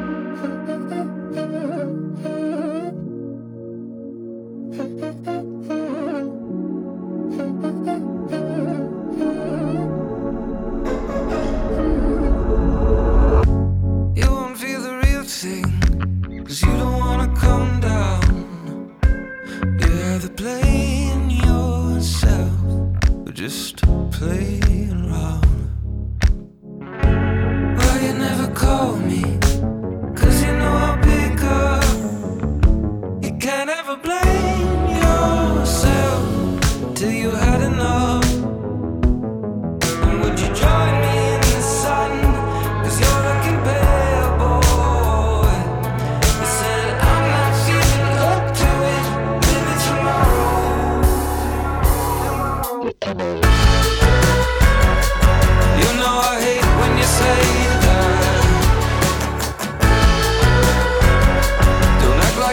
S10: You won't feel the real thing, 'cause you don't wanna come down. You're either playing yourself or just playing around.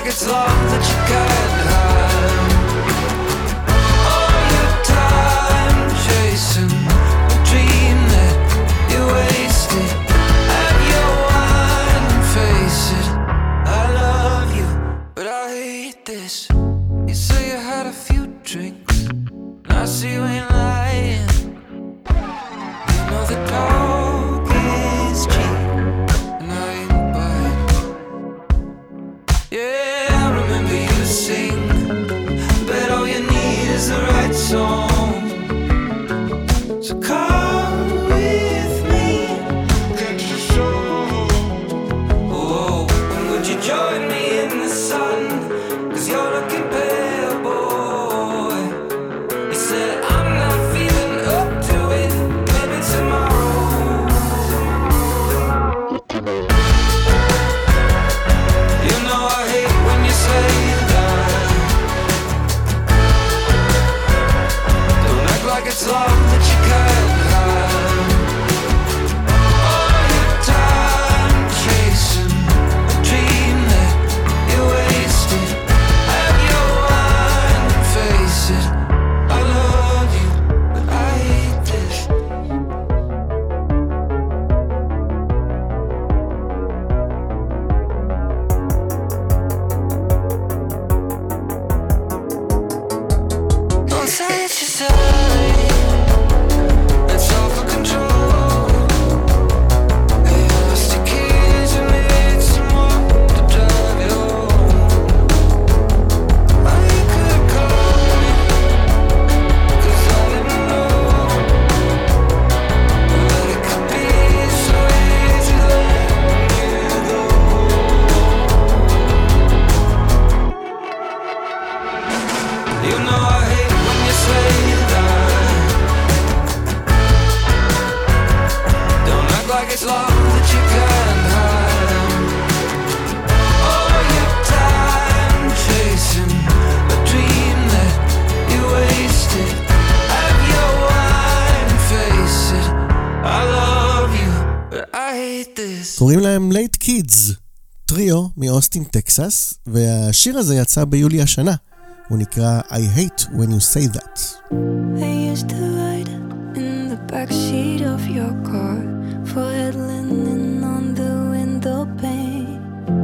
S10: like it's love that you can't have. All your time chasing a dream that you wasted. Have your wine and face it. I love you, but I hate this. You say you had a few drinks, and I see you ain't lying. You know the dog is cheap, and I ain't buying. Yeah, I remember you sing, but all you need is the right song. So come with me, can't you show? Oh, and would you join me in the sun? 'Cause you're looking pale, boy. You said I'm not feeling up to it. Maybe tomorrow. You know I hate when you say that. Don't act like it's love that you can't have. All your time chasing a dream that you wasted. Have your wine and face it. I love you, but I hate this. Don't say it's your side. It's all for control. They lost your keys and need someone to drive you home. Oh, you could call me, 'cause I didn't know that it could be so easy letting you go. You know I hate when you say that. Don't act like it's love that you can't have. All your time chasing a dream that you wasted. Have your wine and face it. I love you, but I hate this.
S3: קוראים להם לייט קידס, טריו מאוסטין טקסס, והשיר הזה יצא ביולי השנה. הוא נקרא I hate when you say that.
S7: I used to ride in the backseat of your car, forehead linen on the window pane.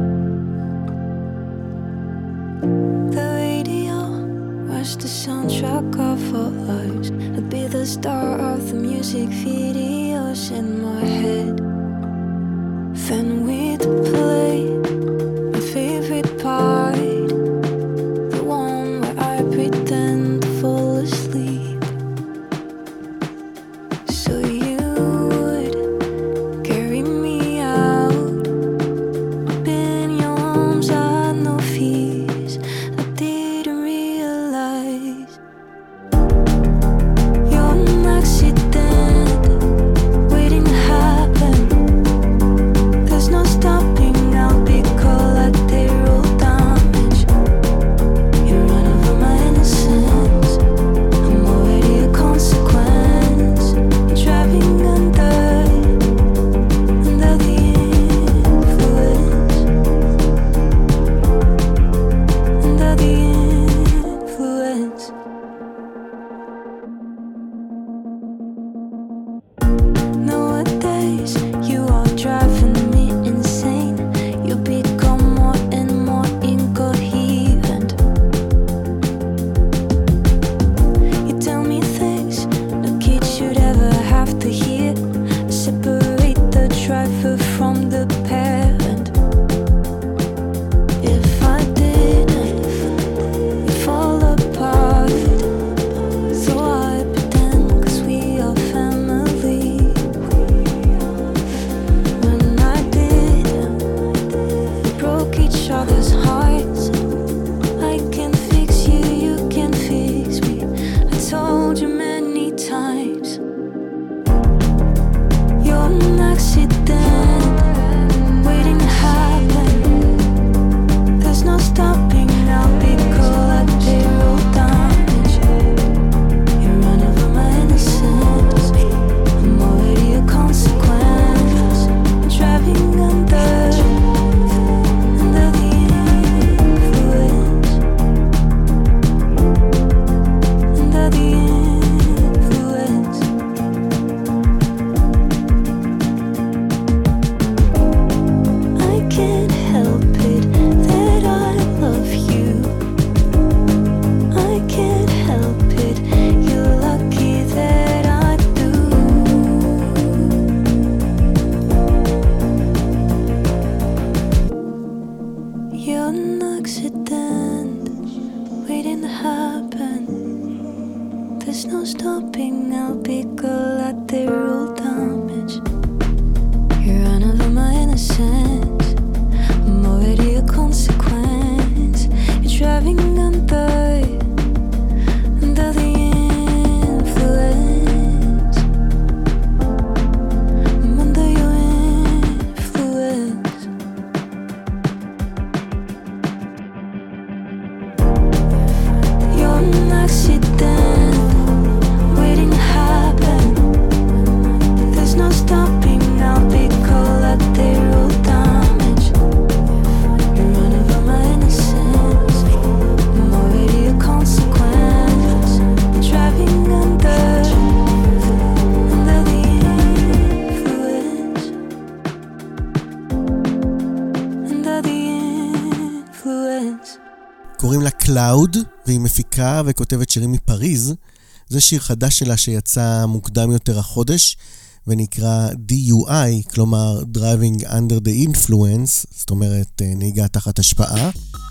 S7: The radio was the soundtrack of our lives. I'd be the star of the music videos in my head. Then we'd play my favorite part, the one where I pretend to fall asleep. So you would carry me out, up in your arms, I had no fears. I didn't realize you're an accident waiting to happen. There's no stopping, I'll be accident waiting to happen. There's no stopping, I'll be collateral damage. You run over my innocence, I'm already a consequence. You're driving under, under the influence. I'm under your influence. You're an accident waiting to happen. There's no stopping, I'll be collateral damage. You run over my innocence, I'm already a consequence. Driving under, under the influence. Under the influence.
S3: קוראים לה קלאוד, והיא מפיקה וכותבת שירים מפריז. זה שיר חדש שלה שיצא מוקדם יותר החודש, ונקרא די יו איי, כלומר Driving Under the Influence, זאת אומרת נהיגה תחת השפעה.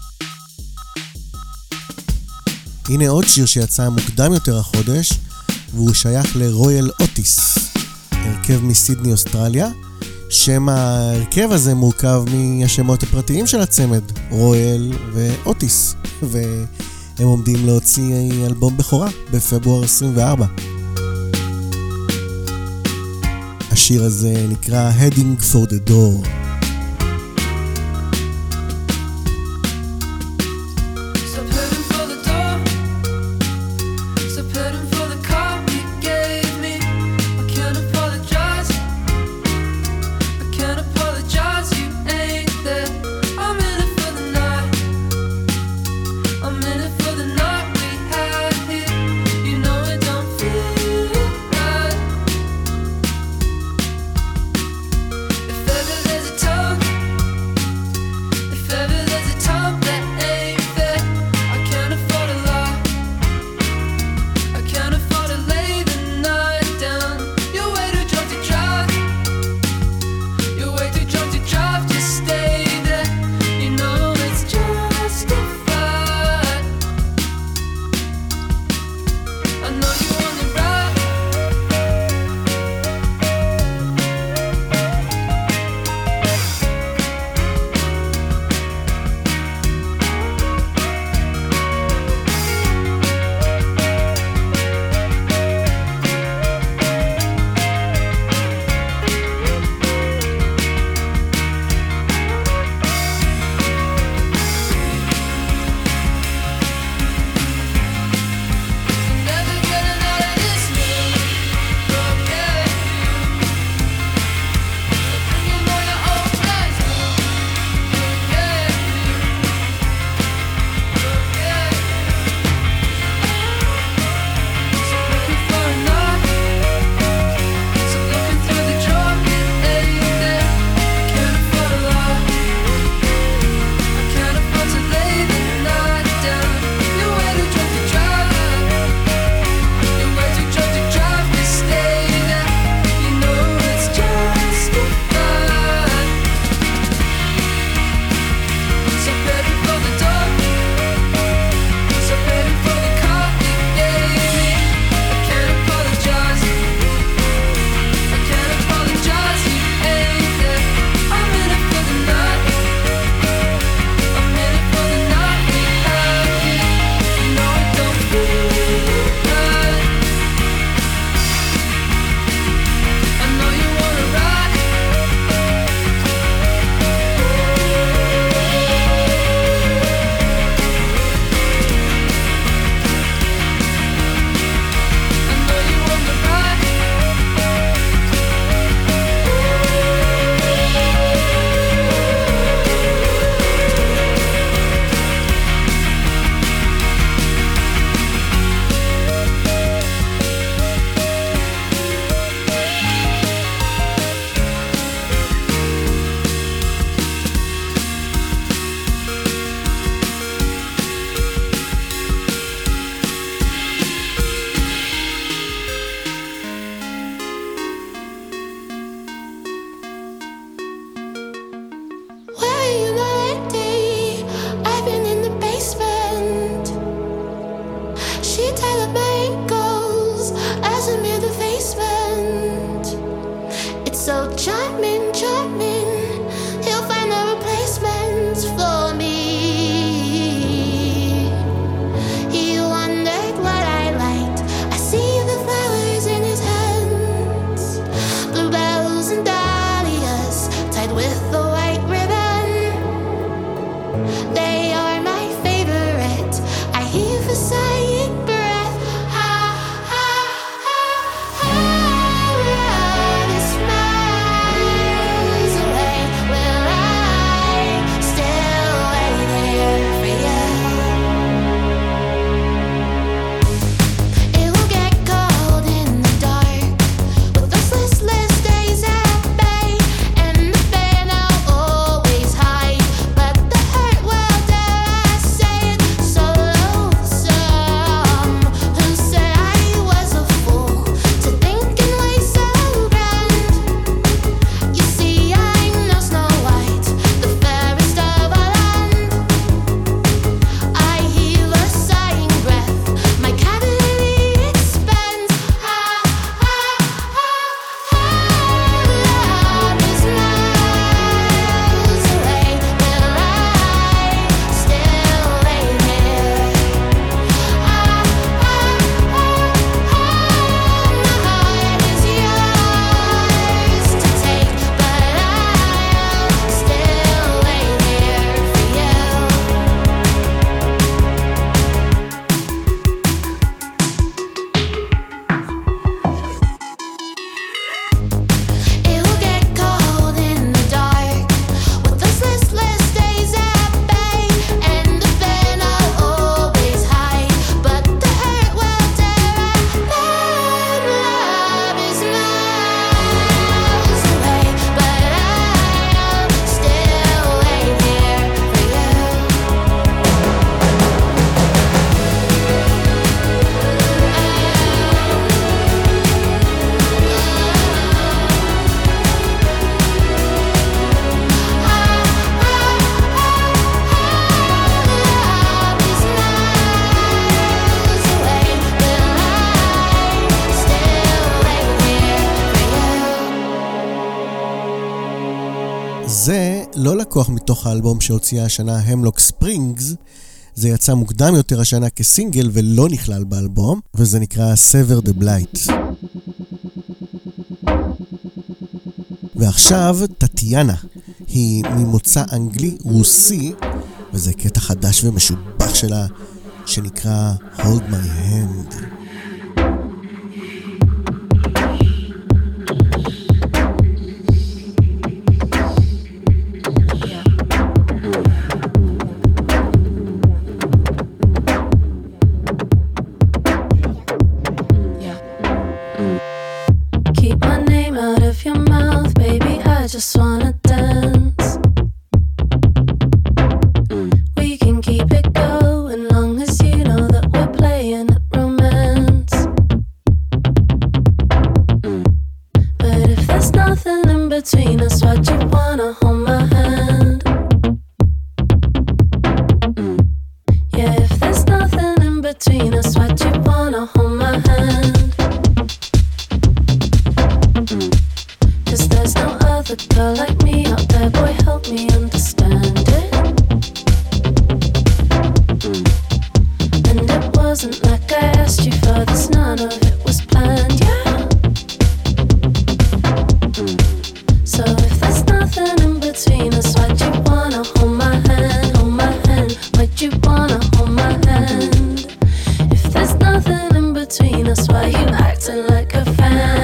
S3: הנה עוד שיר שיצא מוקדם יותר החודש, והוא שייך לרויאל אוטיס, הרכב מסידני אוסטרליה. שם ההרכב הזה מורכב מהשמות הפרטיים של הצמד, רויאל ואוטיס, והם עומדים להוציא אלבום בכורה בפברואר עשרים וארבע. השיר הזה נקרא Heading for the Door.
S7: If ever there's a
S3: לא לקוח מתוך האלבום שהוציאה השנה המלוק ספרינגס, זה יצא מוקדם יותר השנה כסינגל ולא נכלל באלבום, וזה נקרא Sever the Blight. ועכשיו טטיאנה, היא ממוצא אנגלי רוסי, וזה קטע חדש ומשובח שלה שנקרא Hold My Hand.
S7: Just wanna dance. We can keep it going long as you know that we're playing at romance. But if there's nothing in between us, why'd you wanna hold my hand? Yeah, if there's nothing in between us, why'd you wanna hold my hand? Cause there's no other girl like me out there, boy, help me understand it. And it wasn't like I asked you for this, none of it was planned, yeah. So if there's nothing in between us, why'd you wanna hold my hand, hold my hand? Why'd you wanna hold my hand? If there's nothing in between us, why you acting like a fan?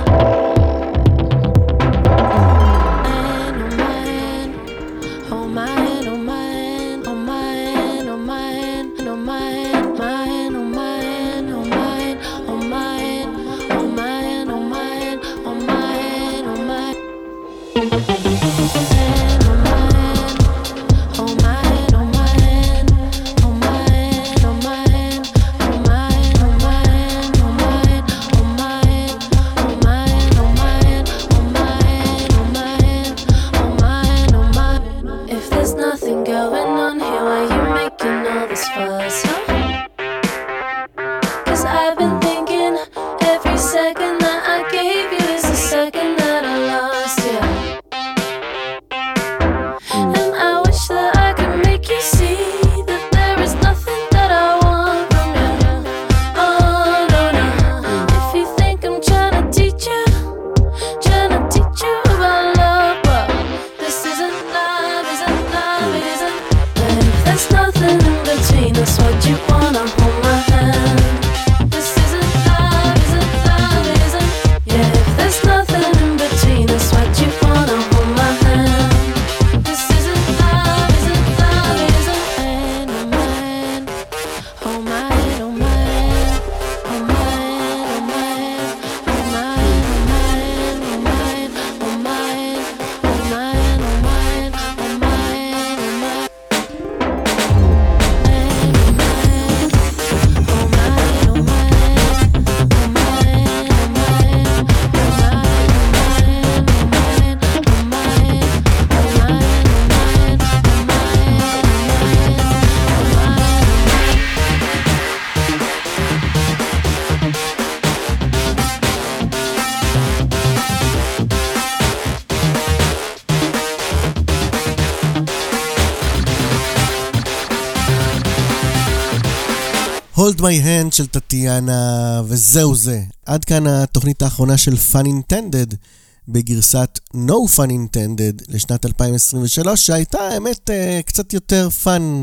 S3: Hold My Hand של טטיאנה, וזהו זה. עד כאן התוכנית האחרונה של Fun Intended, בגרסת No Fun Intended לשנת אלפיים עשרים ושלוש, שהייתה האמת קצת יותר פאן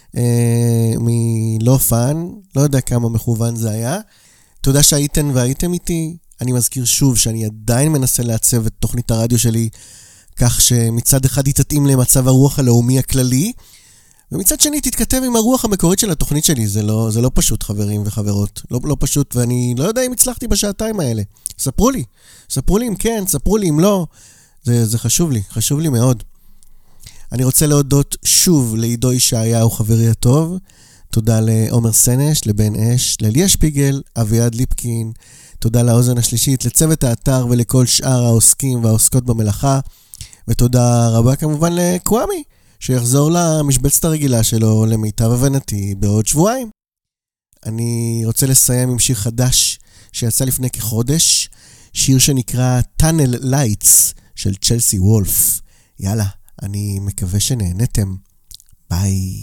S3: מלא פאן, לא יודע כמה מכוון זה היה. תודה שהייתם והייתם איתי. אני מזכיר שוב שאני עדיין מנסה לעצב את תוכנית הרדיו שלי, כך שמצד אחד היא תתאים למצב הרוח הלאומי הכללי, ומצד שני תתכתב עם הרוח המקורית של התוכנית שלי. זה לא, זה לא פשוט, חברים וחברות. לא, לא פשוט, ואני לא יודע אם הצלחתי בשעתיים האלה. ספרו לי. ספרו לי אם כן, ספרו לי אם לא. זה, זה חשוב לי, חשוב לי מאוד. אני רוצה להודות שוב לעידו ישעיהו, חברי הטוב. תודה לעומר סנש, לבן אש, לליה שפיגל, אביעד ליפקין. תודה לאוזן השלישית, לצוות האתר ולכל שאר העוסקים והעוסקות במלאכה. ותודה רבה כמובן לקוואמי, שיחזור למשבצת הרגילה שלו למיטב הבנתי בעוד שבועיים. אני רוצה לסיים עם שיר חדש שיצא לפני כחודש, שיר שנקרא Tunnel Lights של צ'לסי וולף. יאללה, אני מקווה שנהנתם. ביי.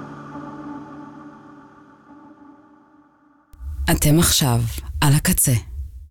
S12: אתם עכשיו על הקצה.